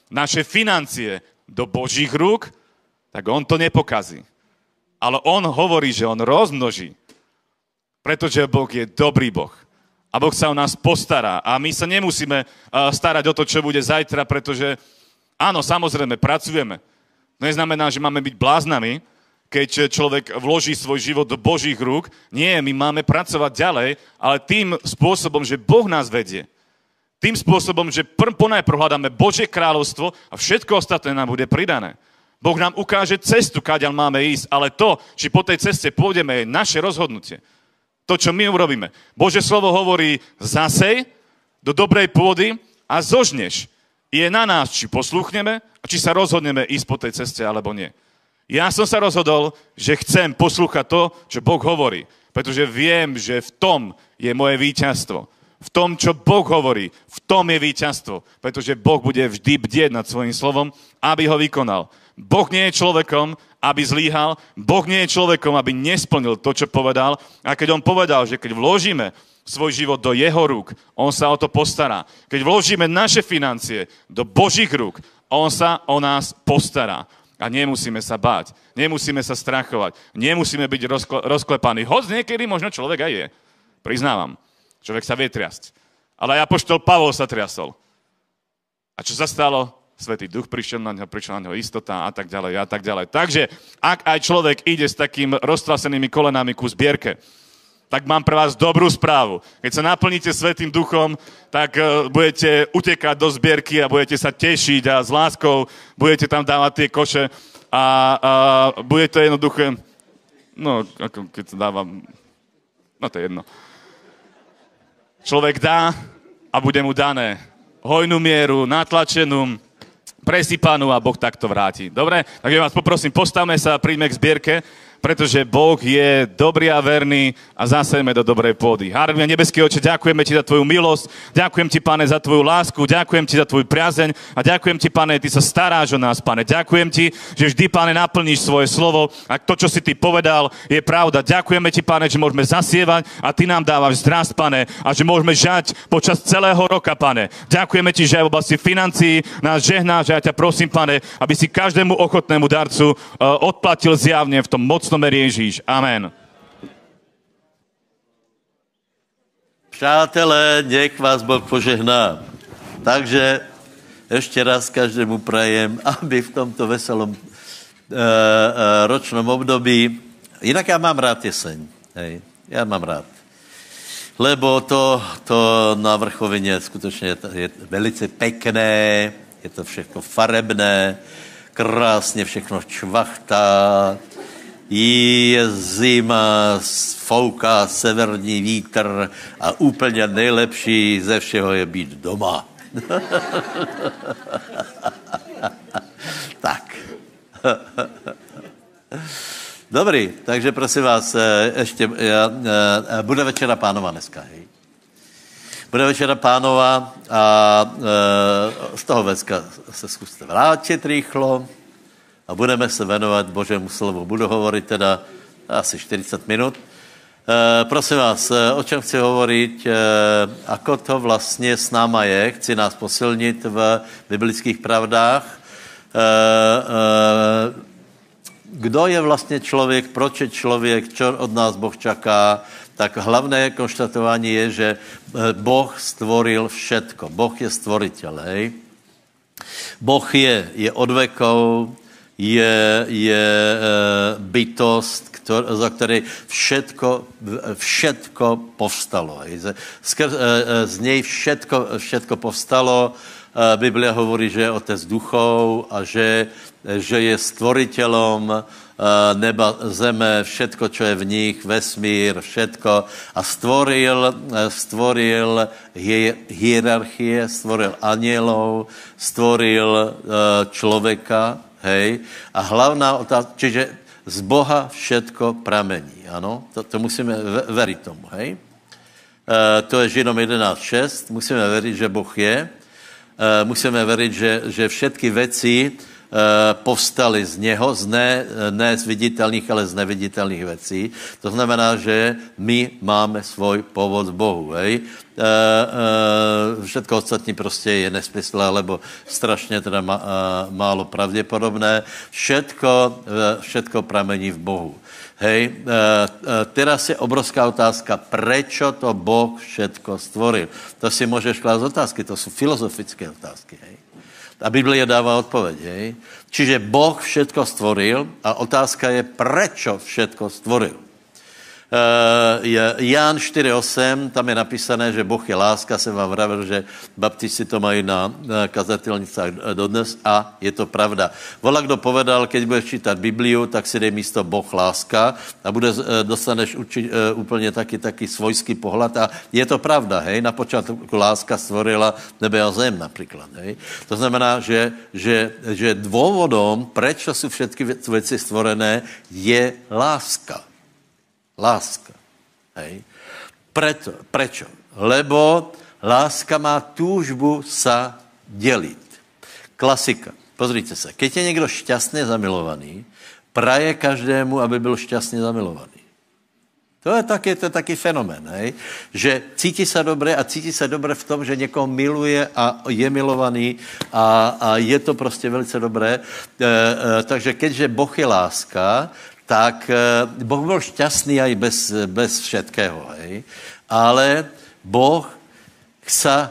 S1: naše financie do Božích rúk, tak on to nepokazí. Ale on hovorí, že on rozmnoží. Pretože Boh je dobrý Boh. A Boh sa o nás postará. A my sa nemusíme starať o to, čo bude zajtra, pretože áno, samozrejme, pracujeme. To neznamená, že máme byť bláznami, keď človek vloží svoj život do Božích rúk. Nie, my máme pracovať ďalej, ale tým spôsobom, že Boh nás vedie. Tým spôsobom, že pr- ponajprv hľadáme Božie kráľovstvo a všetko ostatné nám bude pridané. Boh nám ukáže cestu, kadiaľ máme ísť, ale to, či po tej ceste pôjdeme, je naše rozhodnutie. To, čo my urobíme. Božie slovo hovorí, zasej do dobrej pôdy a zožneš. Je na nás, či poslúchneme a či sa rozhodneme ísť po tej ceste, alebo nie. Ja som sa rozhodol, že chcem poslúchať to, čo Boh hovorí, pretože viem, že v tom je moje víťazstvo. V tom, čo Boh hovorí, v tom je víťazstvo, pretože Boh bude vždy bdieť nad svojím slovom, aby ho vykonal. Boh nie je človekom, aby zlíhal, Boh nie je človekom, aby nesplnil to, čo povedal. A keď on povedal, že keď vložíme svoj život do jeho rúk, on sa o to postará. Keď vložíme naše financie do Božích rúk, on sa o nás postará. A nemusíme sa báť, nemusíme sa strachovať, nemusíme byť rozkle- rozklepaní. Hoď niekedy možno človek aj je. Priznávam, človek sa vie triasť. Ale aj apoštol Pavol sa triasol. A čo sa stalo? Svätý Duch prišiel na ňo, prišla na ňo istota a tak ďalej a tak ďalej. Takže, ak aj človek ide s takým roztrasenými kolenami ku zbierke, tak mám pre vás dobrú správu. Keď sa naplníte Svätým Duchom, tak uh, budete utekať do zbierky a budete sa tešiť a s láskou budete tam dávať tie koše a, a bude to jednoduché, no, ako keď sa dávam, no to je jedno. Človek dá a bude mu dané hojnú mieru, natlačenú, presypanú a Boh takto vráti. Dobre? Takže vás poprosím, postavme sa a príďme k zbierke, pretože Boh je dobrý a verný a zasejme do dobrej pôdy. Hárme, nebeský Oče, ďakujeme Ti za Tvoju milosť, ďakujem Ti, Pane, za Tvoju lásku, ďakujem Ti za Tvoju priazeň a ďakujem Ti, Pane, Ty sa staráš o nás, Pane. Ďakujem Ti, že vždy, Pane, naplníš svoje slovo a to, čo si Ty povedal, je pravda. Ďakujeme Ti, Pane, že môžeme zasievať a Ty nám dávaš zdrast, Pane, a že môžeme žať počas celého roka, Pane. Ďakujeme Ti, že aj v oblasti financií nás žehnáš a ja ťa prosím, Pane, aby si každému ochotnému darcu uh, odplatil zjavne v tom moc mene Ježíš. Amen.
S2: Přátelé, nech vás Boh požehná. Takže ešte raz každému prajem, aby v tomto veselom e, e, ročnom období, inak ja mám rád jeseň, hej, ja mám rád. Lebo to, to na vrchovině skutečně je velice pekné, je to všechno farebné, krásně všechno čvachtá, je zima, fouká severní vítr a úplně nejlepší ze všeho je být doma. Tak. Dobrý, takže prosím vás, ještě, bude večera pánova dneska, hej? Bude večera pánova a z toho vecka se zkuste vrátit rýchlo, a budeme se venovat Božému slovu. Budu hovorit teda asi čtyřicet minut. E, prosím vás, o čem chci hovoriť, e, ako to vlastně s náma je, chci nás posilnit v biblických pravdách. E, e, kdo je vlastně člověk, proč je člověk, čo od nás Boh čaká, tak hlavné konštatování je, že Boh stvoril všetko. Boh je stvoritel, hej. Boh je, je od vekov, je, je e, bytost, ktor, za které všetko, všetko povstalo. Skrz, e, z něj všetko, všetko povstalo. E, Biblia hovorí, že je otec duchov a že, že je stvoriteľom e, neba, zeme, všetko, čo je v nich, vesmír, všetko. A stvoril, stvoril hierarchie, stvoril anielov, stvoril e, človeka, hej, a hlavná otázka, čiže z Boha všetko pramení, ano, to, to musíme veriť tomu, hej. E, to je Židom jedenáct šest, musíme veriť, že Boh je, e, musíme veriť, že, že všetky veci povstali z něho, z ne, ne z viditelných, ale z neviditelných věcí. To znamená, že my máme svůj původ v Bohu. Hej? E, e, všetko ostatní prostě je nesmysl, alebo strašně teda ma, e, málo pravděpodobné. Všetko, e, všetko pramení v Bohu. Hej, e, e, teraz je obrovská otázka, prečo to Boh všetko stvoril. To si můžeš klásť otázky, to jsou filozofické otázky. Hej. A Biblia dává odpověď. Hej. Čiže Boh všetko stvoril a otázka je, prečo všetko stvoril. Uh, Ján štyri osem, tam je napísané, že Boh je láska, jsem vám vravil, že baptisti to mají na kazatelnicách dodnes a je to pravda. Vola, kdo povedal, keď budeš čítat Bibliu, tak si dej místo Boh láska a bude, dostaneš uči, uh, úplně taky, taky svojský pohled a je to pravda, hej, na počátku láska stvorila nebe a zem například, hej. To znamená, že, že, že dôvodom, prečo jsou všetky věci stvorené, je láska. Láska. Hej. Preto, prečo? Lebo láska má túžbu sa deliť. Klasika. Pozrite sa. Keď je někdo šťastně zamilovaný, praje každému, aby byl šťastně zamilovaný. To je taky, to je taky fenomén, hej? Že cítí se dobře a cítí se dobře v tom, že někoho miluje a je milovaný a, a je to prostě velice dobré. E, e, takže keďže Boh je láska, tak Boh byl šťastný aj bez, bez všetkého, hej. Ale Boh sa,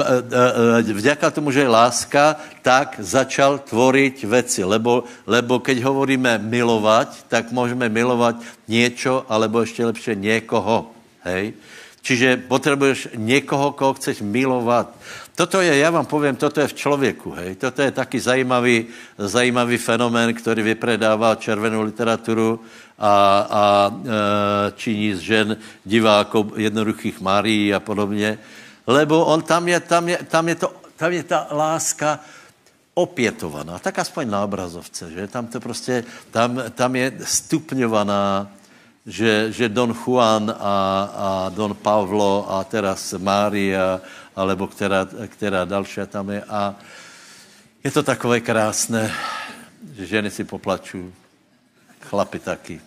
S2: vďaka tomu, že je láska, tak začal tvoriť veci, lebo, lebo keď hovoríme milovať, tak môžeme milovať niečo, alebo ešte lepšie niekoho, hej. Čiže potrebuješ někoho, koho chceš milovat. Toto je, já vám povím, toto je v člověku, hej. Toto je taky zajímavý, zajímavý fenomén, který vypredává červenou literaturu a, a e, činí z žen divákov jednoduchých Márií a podobně. Lebo on tam je, tam je, tam je, to, tam je ta láska opětovaná. Tak aspoň na obrazovce, že? Tam to prostě, tam, tam je stupňovaná, Že, že Don Juan a, a Don Pavlo a teraz Mária, alebo která, která další tam je. A je to takové krásné, že ženy si poplačují, chlapi taky.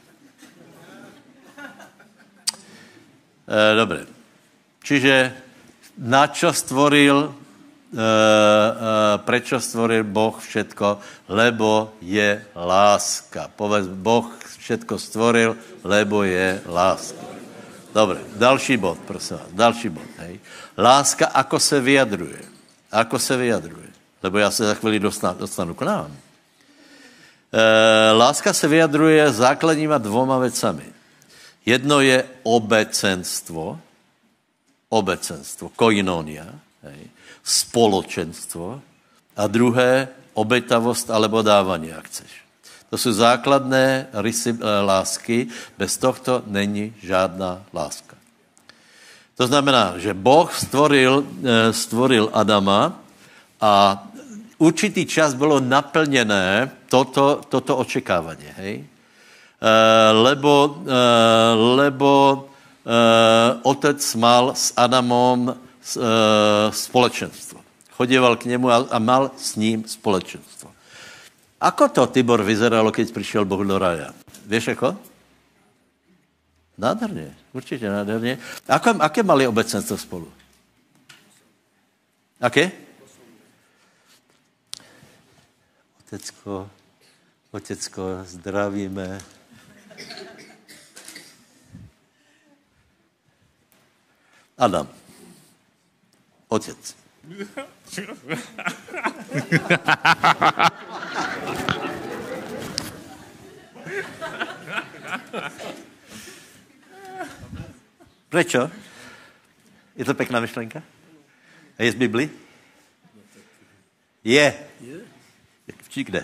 S2: E, dobré. Čiže na čo stvoril, e, e, prečo stvoril Boh všetko? Lebo je láska. Povedz, Boh všetko stvoril, lebo je láska. Dobre, další bod, prosím vás, další bod. Hej. Láska, ako se vyjadruje? Ako se vyjadruje? Lebo já se za chvíli dostanu, dostanu k nám. E, láska se vyjadruje základníma dvoma vecami. Jedno je obecenstvo, obecenstvo, koinonia, hej, spoločenstvo a druhé obetavost alebo dávanie, ak chceš. To jsou základné rysy lásky, bez tohto není žádná láska. To znamená, že Boh stvoril, stvoril Adama a určitý čas bylo naplněné toto, toto očekávání, hej? E, lebo, e, lebo e, otec mal s Adamom e, společenstvo. Chodieval k němu a, a mal s ním společenstvo. Ako to, Tibor, vyzeralo, keď prišiel Boh do raja? Vieš ako? Nádherně, určitě nádherně. Ako, aké mali obecenstvo spolu? Aké? Otecko, otecko, zdravíme. Adam. Otec. Prečo? Je to pekná myšlenka? A je z Bibli? Je. Či kde?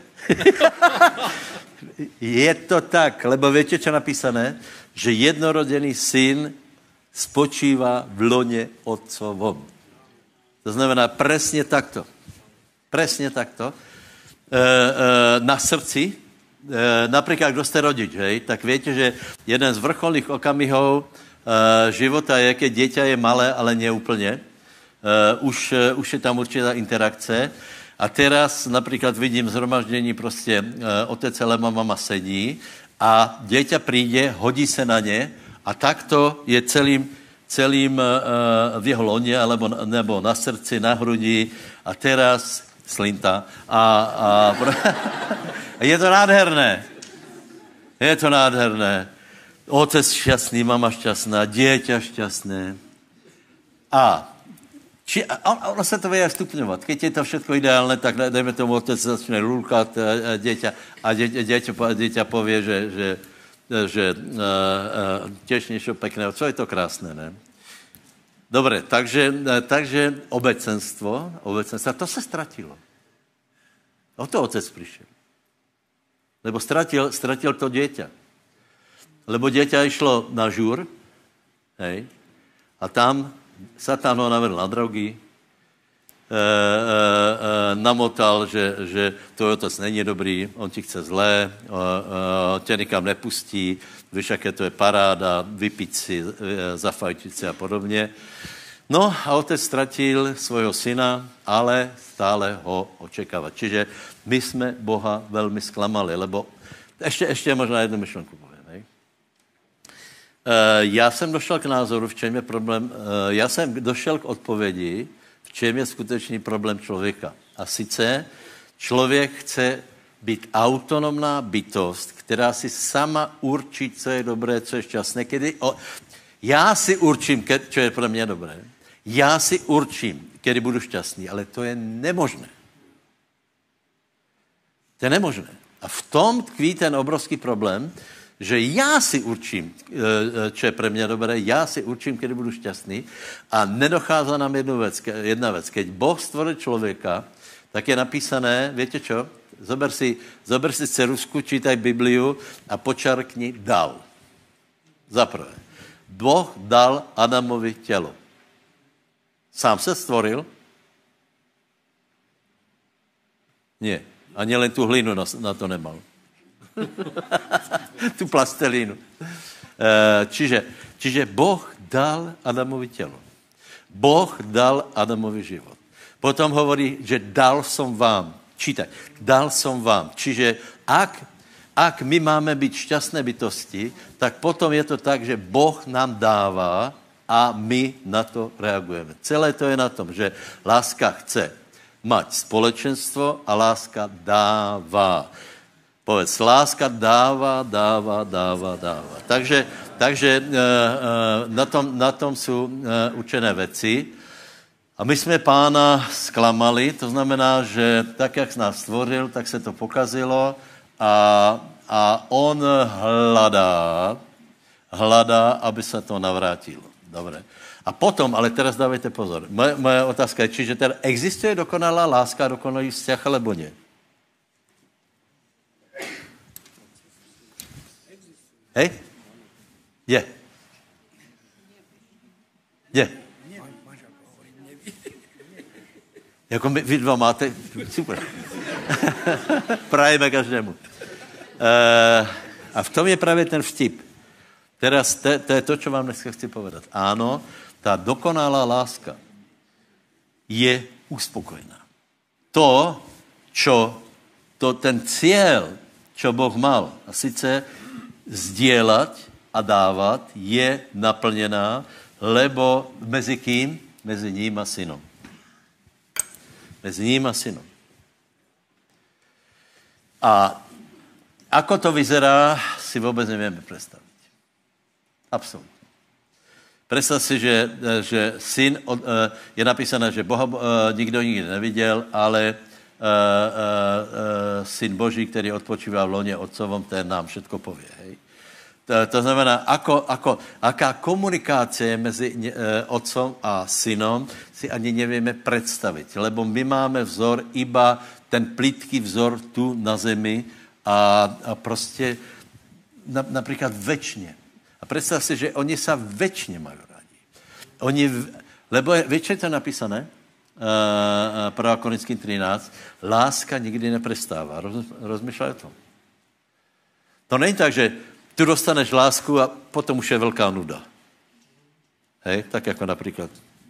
S2: Je to tak, lebo viete, čo napísané? Že jednorodený syn spočívá v lone otcovom. To znamená presne takto. Presne takto. E, e, na srdci, e, napríklad, kdo ste rodič, hej, tak viete, že jeden z vrcholných okamihov e, života je, keď dieťa je malé, ale neúplne. E, už, už je tam určitá interakce. A teraz napríklad vidím zhromaždení, prostě e, otec alebo mama sedí a dieťa príde, hodí se na ne a takto je celým, celým e, v jeho lone alebo, nebo na srdci, na hrudi a teraz slinta. A, a je to nádherné. Je to nádherné. Otec šťastný, mama šťastná, dieťa šťastné. A Či, a ono se to vie stupňovat. Keď je to všetko ideálne, tak dejme tomu, otec začne lulkat dieťa a dieťa, dieťa, dieťa povie, že, že, že uh, uh, tiež niečo pekného. Co je to krásné, ne? Dobre, takže, takže obecenstvo, obecenstvo, to se ztratilo. O to otec prišiel. Lebo stratil, stratil to dieťa. Lebo dieťa išlo na žúr, hej, a tam Satan ho navedl na drogy, e, e, e, namotal, že, že tvoj otec není dobrý, on ti chce zlé, e, e, tě nikam nepustí, víš, jaké to je paráda, vypiť si, e, zafajčiť si a podobně. No a otec ztratil svojho syna, ale stále ho očekává. Čiže my jsme Boha velmi sklamali, lebo ještě, ještě možná jednu myšlenku povím. Já jsem došel k názoru, v čem je problém, já jsem došel k odpovědi, v čem je skutečný problém člověka. A sice člověk chce být autonomná bytost, která si sama určí, co je dobré, co je šťastné. Kedy, o, já si určím, co je pro mě dobré. Já si určím, kdy budu šťastný, ale to je nemožné. To je nemožné. A v tom tkví ten obrovský problém, že já si určím, čo je pre mňa dobré, já si určím, kedy budu šťastný a nedochází nám jednu vec, jedna vec. Keď Boh stvoril člověka, tak je napísané, viete čo? Zober si, zober si ceruzku, čítaj Bibliu a počarkni dal. Zaprvé. Boh dal Adamovi tělo. Sám se stvoril? Nie. Ani len tu hlinu na, na to nemal. Tu plastelínu. Čiže, čiže Boh dal Adamovi tělo. Boh dal Adamovi život. Potom hovorí, že dal som vám. Čítaj. Dal som vám. Čiže ak, ak my máme být šťastné bytosti, tak potom je to tak, že Boh nám dává a my na to reagujeme. Celé to je na tom, že láska chce mať společenstvo a láska dává. Povedz, láska dává, dává, dává, dává. Takže, takže e, e, na, tom, na tom jsou e, učené věci. A my jsme pána sklamali, to znamená, že tak, jak nás stvořil, tak se to pokazilo a, a on hledá, hledá, aby se to navrátilo. Dobre. A potom, ale teraz dávajte pozor, moje, moje otázka je, čiže teda existuje dokonalá láska, dokonalý vzťah, alebo nie? Hej? Je. Je. Jako my, vy dva máte, super. Prajeme každému. E, a v tom je právě ten vtip. Teraz to, to je to, čo vám dneska chci povedat. Áno, tá dokonalá láska je uspokojená. To, čo, to ten cieľ, čo Boh mal, a sice zdieľať a dávať, je naplnená, lebo mezi kým? Mezi ním a synom. Mezi ním a synom. A ako to vyzerá, si vôbec nevieme predstaviť. Absolutně. Představ si, že, že syn, je napísané, že Boha nikdo nikdy neviděl, ale syn Boží, který odpočívá v loně otcovom, ten nám všetko pově. Hej? To, to znamená, ako, ako, aká komunikácie mezi otcom a synom si ani nevieme predstaviť, lebo my máme vzor iba ten plitký vzor tu na zemi a, a prostě na, například večně. A představ si, že oni sa večně mají rádi. Oni, lebo je, vieš, je to napísané? Uh, prvá Korinským třináct. Láska nikdy neprestává. Roz, rozmýšľaj o tom. To není tak, že tu dostaneš lásku a potom už je velká nuda. Hej? Tak jako například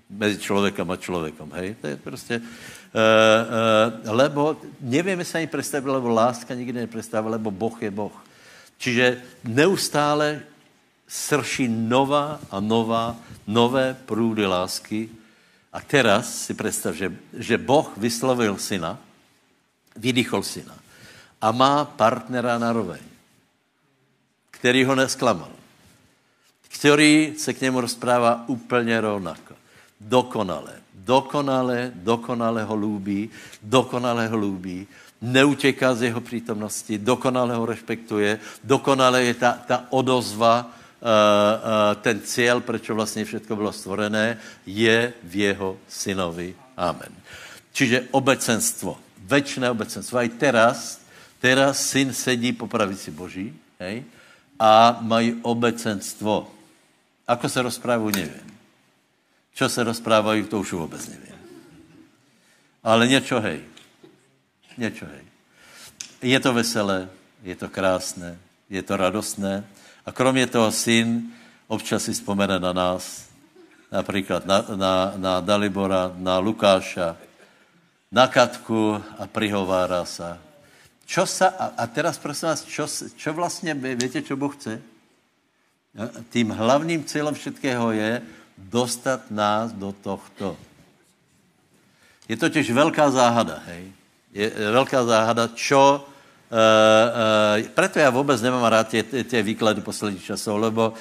S2: mezi človekom a človekom, hej? To je proste... Uh, uh, lebo nevieme sa ani predstaviť, lebo láska nikdy nepredstavila, lebo Boh je Boh. Čiže neustále srší nová a nová, nové prúdy lásky. A teraz si predstav, že, že Boh vyslovil syna, vydýchol syna a má partnera na roveň, ktorý ho nesklamal, ktorý se k němu rozpráva úplně rovnako. Dokonale, dokonale, dokonale ho lúbí, dokonale ho lúbí, neutěká z jeho přítomnosti, dokonale ho respektuje, dokonale je ta, ta odozva, uh, uh, ten cieľ, prečo vlastně všetko bylo stvorené, je v jeho synovi. Amen. Čiže obecenstvo, večné obecenstvo. Aj teraz, teraz syn sedí po pravici Boží, hej, a mají obecenstvo. Ako se rozprávajú, neviem. Čo se rozprávajú, to už vôbec neviem. Ale niečo hej. Niečo hej. Je to veselé, je to krásne, je to radostné. A kromě toho syn občas si spomene na nás, napríklad na, na, na Dalibora, na Lukáša, na Katku a prihovára sa. Čo sa, a, a teraz prosím vás, čo, čo vlastne, viete, čo Boh chce? Tým hlavným cieľom všetkého je dostať nás do tohto. Je totiž veľká záhada, hej? Je veľká záhada, čo... Uh, uh, preto ja vôbec nemám rád tie, tie výklady posledných časov, lebo uh,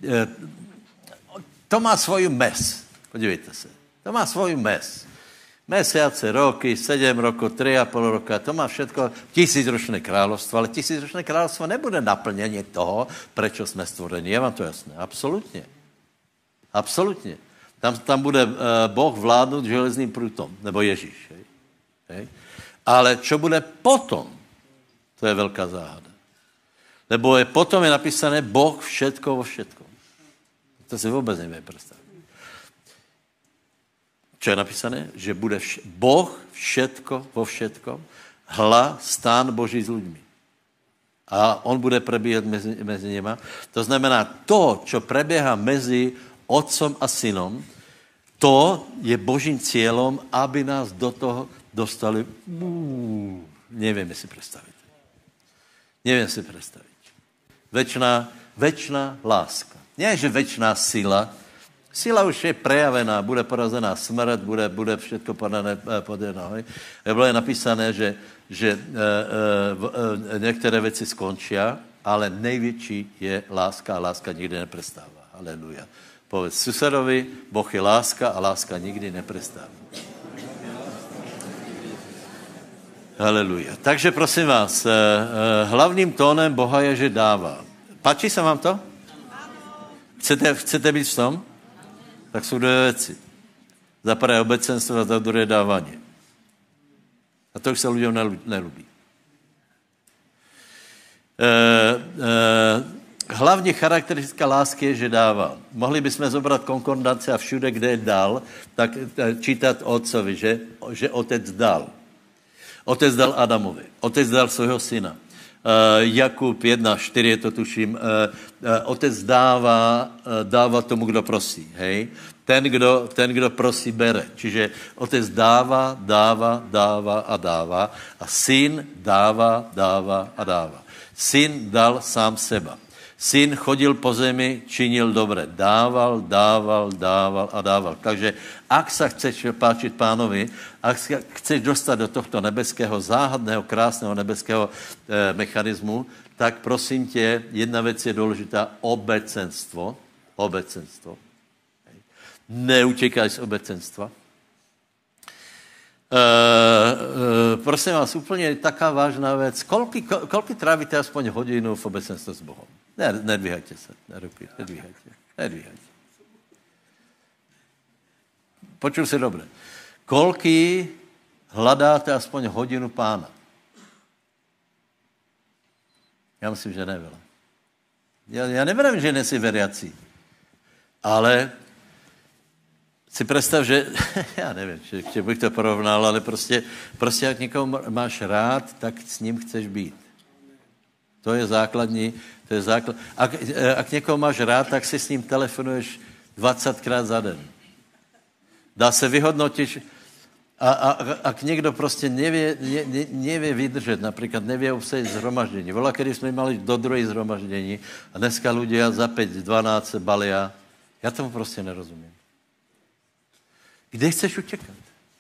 S2: to má svoju mes. Podívejte sa. To má svoju mes. Mesiace, roky, sedem rokov, tri a pol roka, to má všetko tisícročné kráľovstvo, ale tisícročné kráľovstvo nebude naplnenie toho, prečo sme stvorení. Je vám to jasné? Absolutně. Absolutně. Tam, tam bude uh, Boh vládnout železným prútom, nebo Ježíš. Hej? Hej? Ale čo bude potom, to je veľká záhada. Lebo je, potom je napísané Boh všetko vo všetkom. To si vôbec nevie predstaviť. Čo je napísané? Že bude vš- Boh všetko vo všetkom, hla stán Boží s ľuďmi. A on bude prebíhať mezi, mezi nima. To znamená, to, čo prebieha mezi otcom a synom, to je Božím cieľom, aby nás do toho dostali. Uú, nevieme si predstaviť. Neviem si predstaviť. Večná, večná láska. Nie, že večná sila. Sila už je prejavená, bude porazená smrt, bude, bude všetko podané pod nohy. Bylo je napísané, že, že e, e, e, některé věci skončia, ale největší je láska a láska nikdy neprestává. Haleluja. Povedz susedovi, Boh je láska a láska nikdy neprestává. Haleluja. Takže prosím vás, e, e, hlavním tónem Boha je, že dává. Páči se vám to? Chcete, chcete být v tom? Tak jsou dvě věci. Za prvé obecenstvo a za druhé dávání. A to už se lidem nelubí. E, e, hlavní charakteristika lásky je, že dává. Mohli bychom zobrat konkordanci a všude, kde je dal, tak čítat otcovi, že, že otec dal. Otec dal Adamovi. Otec dal svého syna. Uh, Jakub jedna štyri, je to tuším, uh, uh, otec dává, uh, dává tomu, kdo prosí, hej? Ten kdo, ten, kdo prosí, bere. Čiže otec dává, dává, dává a dává a syn dává, dává a dává. Syn dal sám seba. Syn chodil po zemi, činil dobre. Dával, dával, dával a dával. Takže ak sa chceš páčiť pánovi, ak sa chceš dostať do tohto nebeského, záhadného, krásneho nebeského e, mechanizmu, tak prosím tě, jedna vec je dôležitá, obecenstvo. Obecenstvo. Neutekaj z obecenstva. E, e, prosím vás, úplne taká vážná vec. Koľky, koľky trávite aspoň hodinu v obecenstve s Bohom? Ne, nedvíhajte sa. Nedvíhajte. Nedvíhajte. Počul si dobre. Koľky hľadáte aspoň hodinu pána? Ja myslím, že neveľa. Ja, ja neverím, že nesi veriaci. Ale si predstav, že, ja neviem, či, či bych to porovnal, ale prostě, prostě jak někoho máš rád, tak s ním chceš být. To je základní, to je základ. Ak, ak někoho máš rád, tak si s ním telefonuješ dvacetkrát za den. Dá se vyhodnotit, a, a, ak někdo prostě nevie, ne, ne, nevie vydržet, například nevie obsadit zhromaždění. Vola, kedy jsme mali do druhé zhromaždění a dneska ľudia za päť dvanásť se balia. Já tomu prostě nerozumím. Kde chceš utěkat?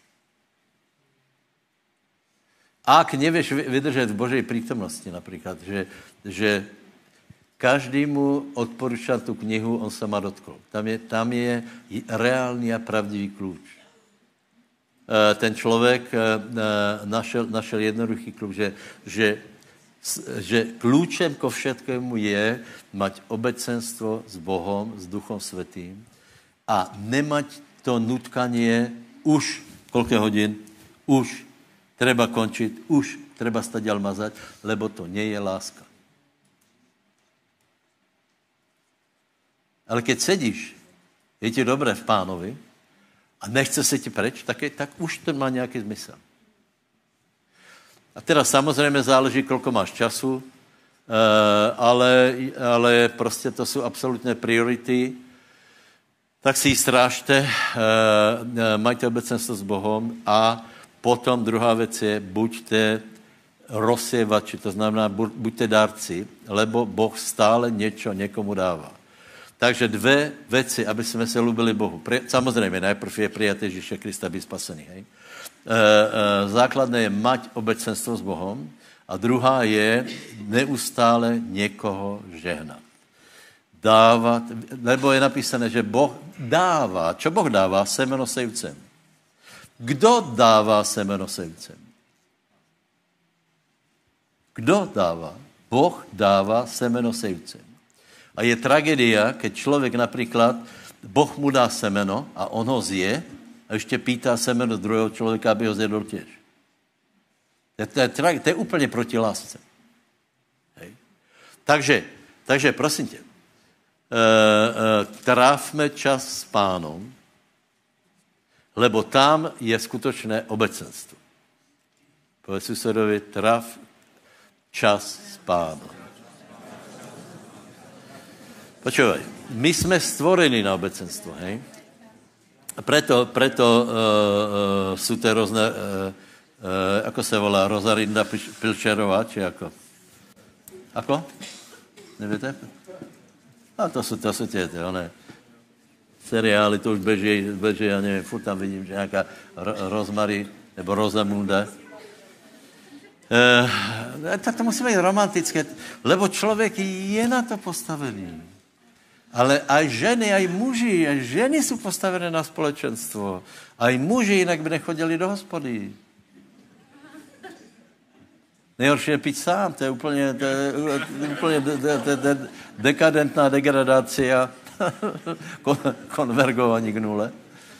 S2: Ak nevieš vydržet v Božej prítomnosti například, že, že každému odporúčam tu knihu, on se má dotkl. Tam je, tam je reálný a pravdivý kľúč. Ten člověk našel, našel jednoduchý kľúč, že, že, že kľúčem ko všetkému je mať obecenstvo s Bohom, s Duchom Svätým a nemať to nutkanie už, koľko hodín, už treba končiť, už treba stadiaľ mazať, lebo to nie je láska. Ale keď sedíš, je ti dobré v Pánovi a nechce se ti preč, tak, je, tak už to má nějaký zmysel. A teda samozřejmě záleží, kolko máš času, ale, ale prostě to jsou absolutné priority. Tak si ji strážte, majte obecenstvo s Bohom a potom druhá věc je, buďte rozsievači, to znamená, buďte dárci, lebo Boh stále něco někomu dává. Takže dvě věci, aby jsme se lubili Bohu. Samozřejmě, najprv je přijat Ježíše Krista, být spasený. Hej? E, e, základné je mať obecenstvo s Bohom a druhá je neustále někoho žehnat. Dávat, nebo je napísané, že Boh dává. Čo Boh dává? Semeno sejvcem. Kdo dává semeno sejvcem? Kdo dává? Boh dává semeno sejvcem. A je tragédia, keď člověk například, Boh mu dá semeno a on ho zje a ještě pýtá semeno druhého člověka, aby ho zjedl těž. To je, to je, to je úplně proti lásce. Hej. Takže, takže prosím tě, e, e, trávme čas s Pánom, lebo tam je skutočné obecenstvo. Povedz susedovi, tráv čas s Pánom. Počúvaj, my jsme stvorení na obecenstvo, hej? A preto, preto uh, uh, sú to rôzne, uh, uh, ako se volá, Rosarinda Pilčerová, či ako? Ako? Neviete? A to sú, to sú tie, tie, one seriály, to už beží, beží, ja neviem, furt tam vidím, že nejaká Rozmary, nebo Rosamunda. Uh, tak to musí být romantické, lebo člověk je na to postavený. Ale aj ženy, aj muži, aj ženy jsou postavené na společenstvo. Aj muži, jinak by nechodili do hospody. Nejhorší je pít sám, to je úplně, to je, úplně de, de, de, de, dekadentná degradácia, kon, konvergování k nule. Uh,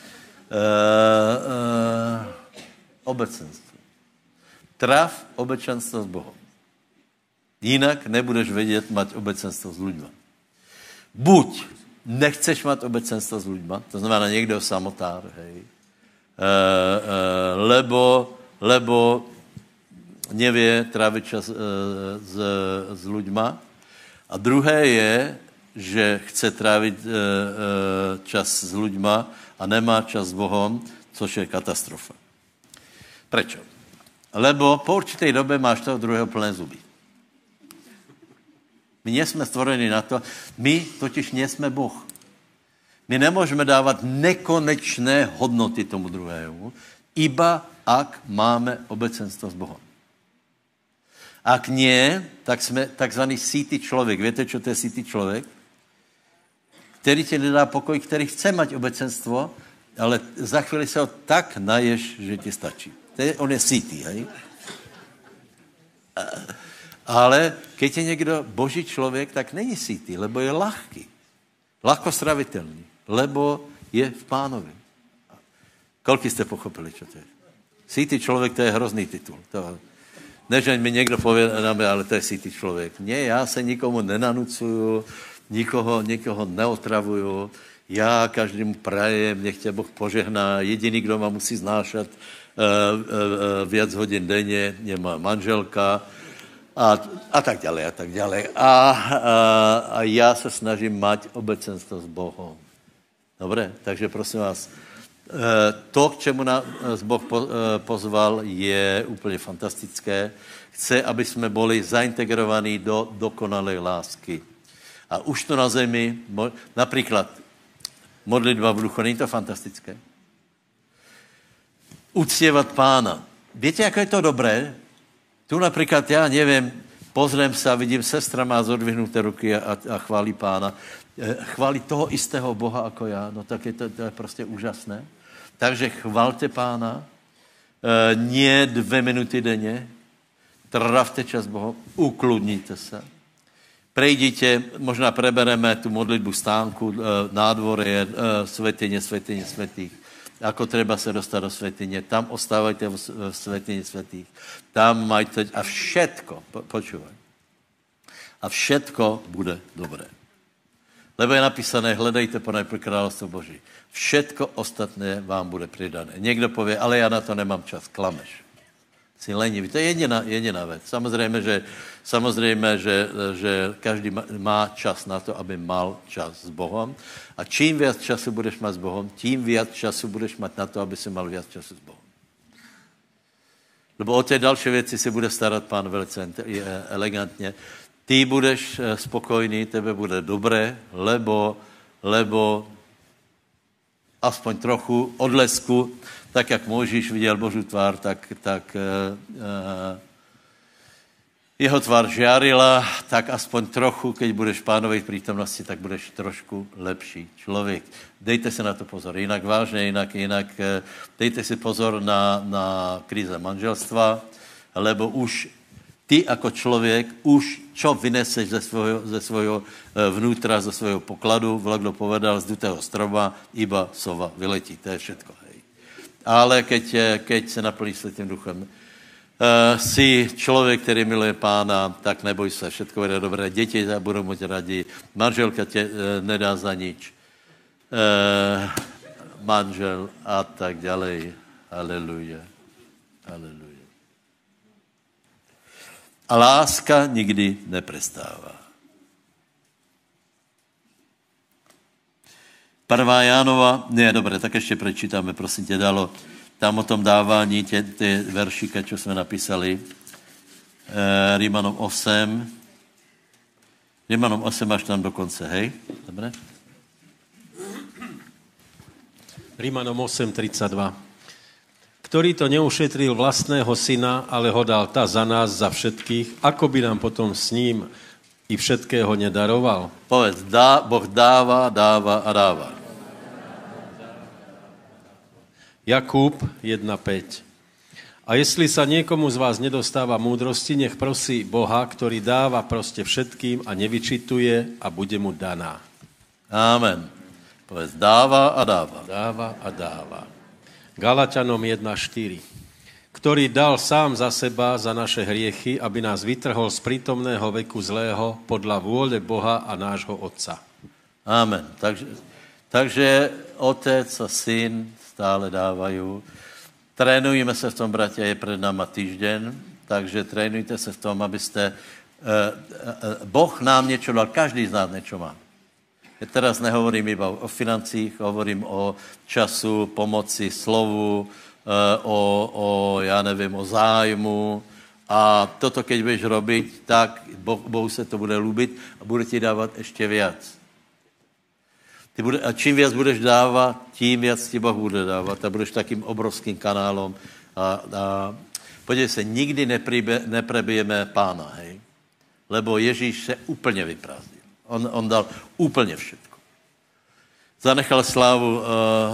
S2: uh, obecenstvo. Tráv obecenstvo s Bohom. Jinak nebudeš vědět mať obecenstvo s ľuďma. Buď nechceš mať obecenstvo s ľuďma, to znamená někdo samotár, hej, e, e, lebo, lebo nevie tráviť čas e, s, s ľuďma. A druhé je, že chce trávit e, e, čas s ľuďma a nemá čas s Bohom, což je katastrofa. Prečo? Lebo po určitej dobe máš toho druhého plné zuby. My nejsme stvorení na to, my totiž nejsme Boh. My nemůžeme dávat nekonečné hodnoty tomu druhému, iba ak máme obecenstvo s Bohom. Ak nie, tak jsme takzvaný sýtý člověk. Víte, čo to je sýtý člověk? Který ti nedá pokoj, který chce mať obecenstvo, ale za chvíli se ho tak naješ, že ti stačí. On je sýtý, hej? Ale keď je někdo boží člověk, tak není sýtý, lebo je ľahký. Ľahko stravitelný, lebo je v Pánovi. Koľko jste pochopili, čo to je? Sýtý člověk, to je hrozný titul. To, než mi někdo povie, ale to je sýtý člověk. Nie, já se nikomu nenanucuju, nikoho, nikoho neotravuju, já každému prajem, nech tě Boh požehná. Jediný, kdo ma musí znášat uh, uh, uh, viac hodin denně, je má manželka, A, a tak ďalej, a tak ďalej. A, a, a já se snažím mať obecenstvo s Bohom. Dobre? Takže prosím vás, to, k čemu nás Boh pozval, je úplně fantastické. Chce, aby jsme byli zaintegrovaní do dokonalé lásky. A už to na zemi, například modlitba v duchu, není to fantastické? Uctívat Pána. Víte, jak je to dobré? Tu například, já nevím, pozriem se a vidím, sestra má zodvihnuté ruky a, a chválí Pána. Chválí toho istého Boha jako já, no tak je to, to je prostě úžasné. Takže chvalte Pána, e, nie dvě minuty denně, trávte čas Bohu, ukludníte se. Prejdite, možná prebereme tu modlitbu stánku, e, nádvorie, e, svätyne, svätyne, svätých. Ako treba se dostat do svätyne. Tam ostávajte v svätyni svätých. Tam majte, a všetko, po, počúvaj, a všetko bude dobré. Lebo je napísané, hledejte ponajprv kráľovstvo Boží. Všetko ostatné vám bude pridané. Někdo povie, ale já na to nemám čas. Klameš. Si lenivý. To je jediná, jediná věc. Samozřejmě, že, samozřejmě, že, že každý má čas na to, aby mal čas s Bohem. A čím viac času budeš mať s Bohem, tím viac času budeš mať na to, aby si mal viac času s Bohem. Lebo o té další věci se bude starat Pán velice elegantně. Ty budeš spokojný, tebe bude dobré, lebo, lebo aspoň trochu odlesku, tak jak Mojžíš viděl Boží tvár, tak, tak uh, uh, jeho tvár žiarila, tak aspoň trochu, keď budeš v Pánovej prítomnosti, tak budeš trošku lepší člověk. Dejte si na to pozor. Jinak vážně, jinak, jinak uh, dejte si pozor na, na kríze manželstva, lebo už ty jako člověk, už čo vyneseš ze svojho, ze svojho vnútra, ze svojho pokladu, Vlado povedal, z dutého stroba, iba sova vyletí. To je všetko. Hej. Ale keď, keď se naplní Svätým duchem, uh, si člověk, který miluje Pána, tak neboj se, všetko bude dobré. Děti budou moc radi, manželka tě uh, nedá za nič. Uh, manžel a tak ďalej. Aleluja. Aleluja. A láska nikdy neprestává. Prvá Jánova, ne, dobré, tak ještě prečítáme, prosím tě, dalo tam o tom dávání, tě, tě veršíka, čo jsme napísali, e, Rímanom osm, Rímanom osm až tam do konce, hej? Dobré?
S3: Rímanom osm tridsaťdva. Ktorý to neušetril vlastného syna, ale ho dal ta za nás, za všetkých, ako by nám potom s ním i všetkého nedaroval?
S2: Povedz, dá, Boh dáva, dáva a dáva.
S3: Jakub jedna päť. A jestli sa niekomu z vás nedostáva múdrosti, nech prosí Boha, ktorý dáva proste všetkým a nevyčituje a bude mu daná.
S2: Amen. Povedz, dáva a dáva.
S3: Dáva a dáva. Galatianom jedna štyri. Ktorý dal sám za seba, za naše hriechy, aby nás vytrhol z prítomného veku zlého podľa vôle Boha a nášho Otca.
S2: Amen. Takže, takže Otec a Syn stále dávajú. Trénujeme se v tom, bratia, je před náma týždeň, takže trénujte se v tom, abyste... Eh, eh, boh nám něco dal, každý z nás něco má. Ja teraz nehovorím iba o financích, hovorím o času, pomoci, slovu, o, o ja nevím, o zájmu. A toto, keď budeš robiť, tak boh, Bohu se to bude ľúbiť a bude ti dávat ještě viac. Ty bude, a čím viac budeš dávat, tím viac ti Boh bude dávat a budeš takým obrovským kanálom. A, a podívej se, nikdy nepríbe, neprebijeme Pána, hej? Lebo Ježíš se úplně vyprázdnil. On, on dal úplně všetko. Zanechal slávu uh, uh,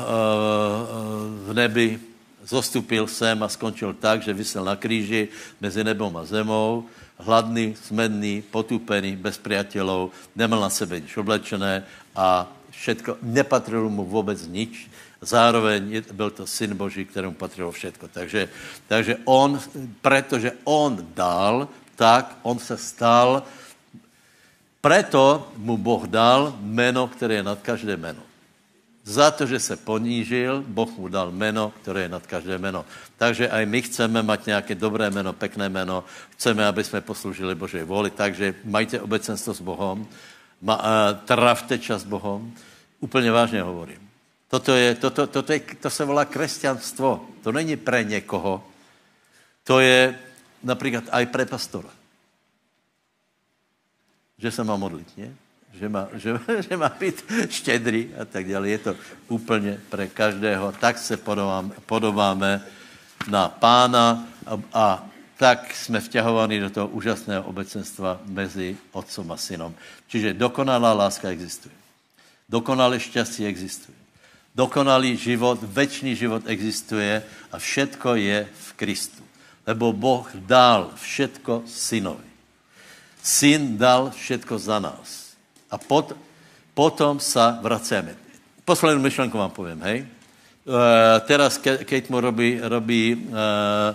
S2: v nebi, zostupil sem a skončil tak, že visel na kríži mezi nebom a zemou, hladný, smedný, potúpený, bez priateľov, nemal na sebe nič oblečené a všetko, nepatrilo mu vůbec nič. Zároveň byl to Syn Boží, kterému patrilo všetko. Takže, takže on, pretože on dal, tak on se stal. Preto mu Boh dal meno, které je nad každé meno. Za to, že se ponížil, Boh mu dal meno, které je nad každé meno. Takže aj my chceme mať nějaké dobré meno, pekné meno, chceme, aby jsme posloužili Božej vůli, takže majte obecenstvo s Bohom, ma, uh, trávte čas s Bohom, úplně vážně hovorím. Toto, je, toto, toto je, to se volá kresťanstvo. To není pre někoho. To je například aj pre pastora. Že se má modlit, ne? Že má, že, že má být štědrý a tak dále. Je to úplně pre každého. Tak se podobáme, podobáme na Pána a, a tak jsme vťahovaní do toho úžasného obecenstva mezi otcom a synom. Čiže dokonalá láska existuje. Dokonalé šťastie existuje. Dokonalý život, večný život existuje a všetko je v Kristu. Lebo Boh dal všetko synovi. Syn dal všetko za nás. A pot, potom sa vraceme. Poslednú myšlenku vám poviem, hej. Uh, teraz Ke- Kate mu robí, robí uh,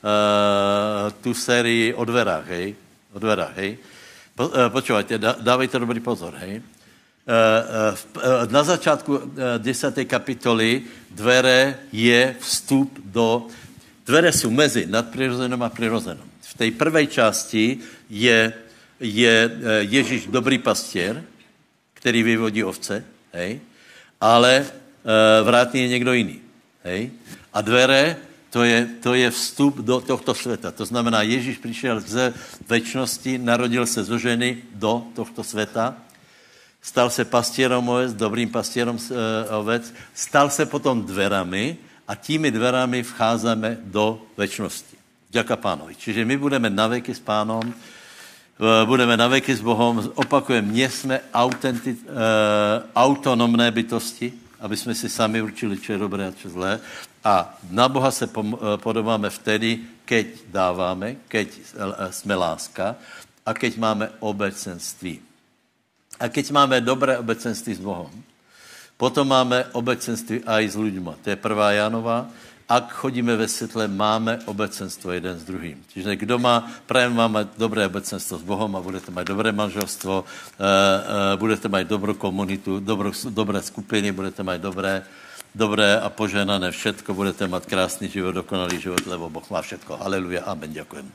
S2: uh, tú sérii o dverách, hej. O dverách, hej. Po, uh, počúvajte, dá, dávajte dobrý pozor, hej. Uh, uh, na začátku uh, desáté kapitoly dvere je vstup do... Dvere sú mezi nadprirozenom a prirozenom. V tej prvej časti je, je uh, Ježíš dobrý pastier, který vyvodí ovce, hej, ale uh, vrátný je někdo jiný, hej. A dvere, to je, to je vstup do tohto světa. To znamená, Ježíš přišel z večnosti, narodil se zo ženy do tohto světa, stal se pastierom ovec, dobrým pastierom uh, ovec, stal se potom dverami a tými dverami vcházíme do večnosti. Ďaká Pánovi. Čiže my budeme naveky s Pánom, budeme naveky s Bohom, opakujem, nie jsme autenti, uh, autonomné bytosti, aby jsme si sami určili, čo je dobré a čo zlé. A na Boha se pom, uh, podobáme vtedy, keď dáváme, keď uh, jsme láska a keď máme obecenství. A keď máme dobré obecenství s Bohom, potom máme obecenství aj s ľuďma. To je prvá Jánová. Ak chodíme ve světle, máme obecenstvo jeden s druhým. Čiže kdo má, prajem vám mať dobré obecenstvo s Bohom a budete mať dobré manželstvo, uh, uh, budete mať dobrou komunitu, dobrou, dobré skupiny, budete mať dobré, dobré a poženané všetko, budete mať krásný život, dokonalý život, lebo Boh má všetko. Haleluja, amen, ďakujem.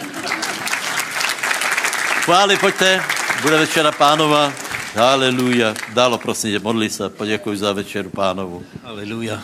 S2: Chváli, pojďte, bude večera Pánova. Haleluja. Dálo, prosím tě, modli se, poděkuj za večeru Pánovu.
S3: Haleluja.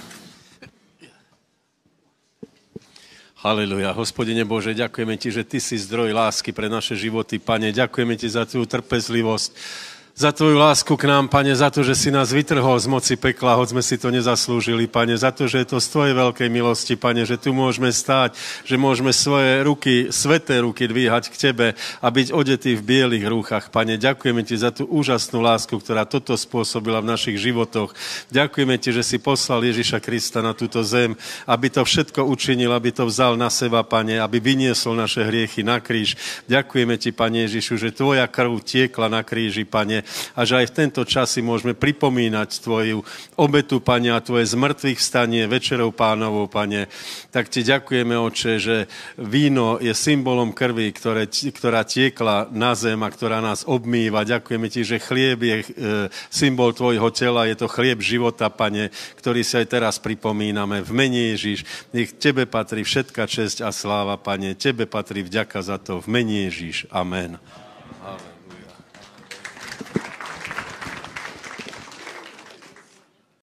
S3: Haleluja. Hospodine Bože, ďakujeme Ti, že Ty si zdroj lásky pre naše životy, Pane. Ďakujeme Ti za Tvoju trpezlivosť, za Tvoju lásku k nám, Pane, za to, že si nás vytrhol z moci pekla, hoď sme si to nezaslúžili, Pane, za to, že je to z Tvojej veľkej milosti, Pane, že tu môžeme stáť, že môžeme svoje ruky, sveté ruky dvíhať k Tebe a byť odetí v bielých rúchach, Pane. Ďakujeme Ti za tú úžasnú lásku, ktorá toto spôsobila v našich životoch. Ďakujeme Ti, že si poslal Ježiša Krista na túto zem, aby to všetko učinil, aby to vzal na seba, Pane, aby vyniesol naše hriechy na kríž. Ďakujeme Ti, Pane Ježišu, že Tvoja krv tiekla na kríži, Pane, a že aj v tento čas si môžeme pripomínať Tvoju obetu, Pane, a Tvoje zmrtvých vstanie večerou Pánovou, Pane. Tak Ti ďakujeme, Oče, že víno je symbolom krvi, ktoré, ktorá tiekla na zem a ktorá nás obmýva. Ďakujeme Ti, že chlieb je e, symbol Tvojho tela, je to chlieb života, Pane, ktorý si aj teraz pripomíname. V mene Ježiš, nech Tebe patrí všetka česť a sláva, Pane. Tebe patrí vďaka za to. V mene Ježiš. Amen. Amen.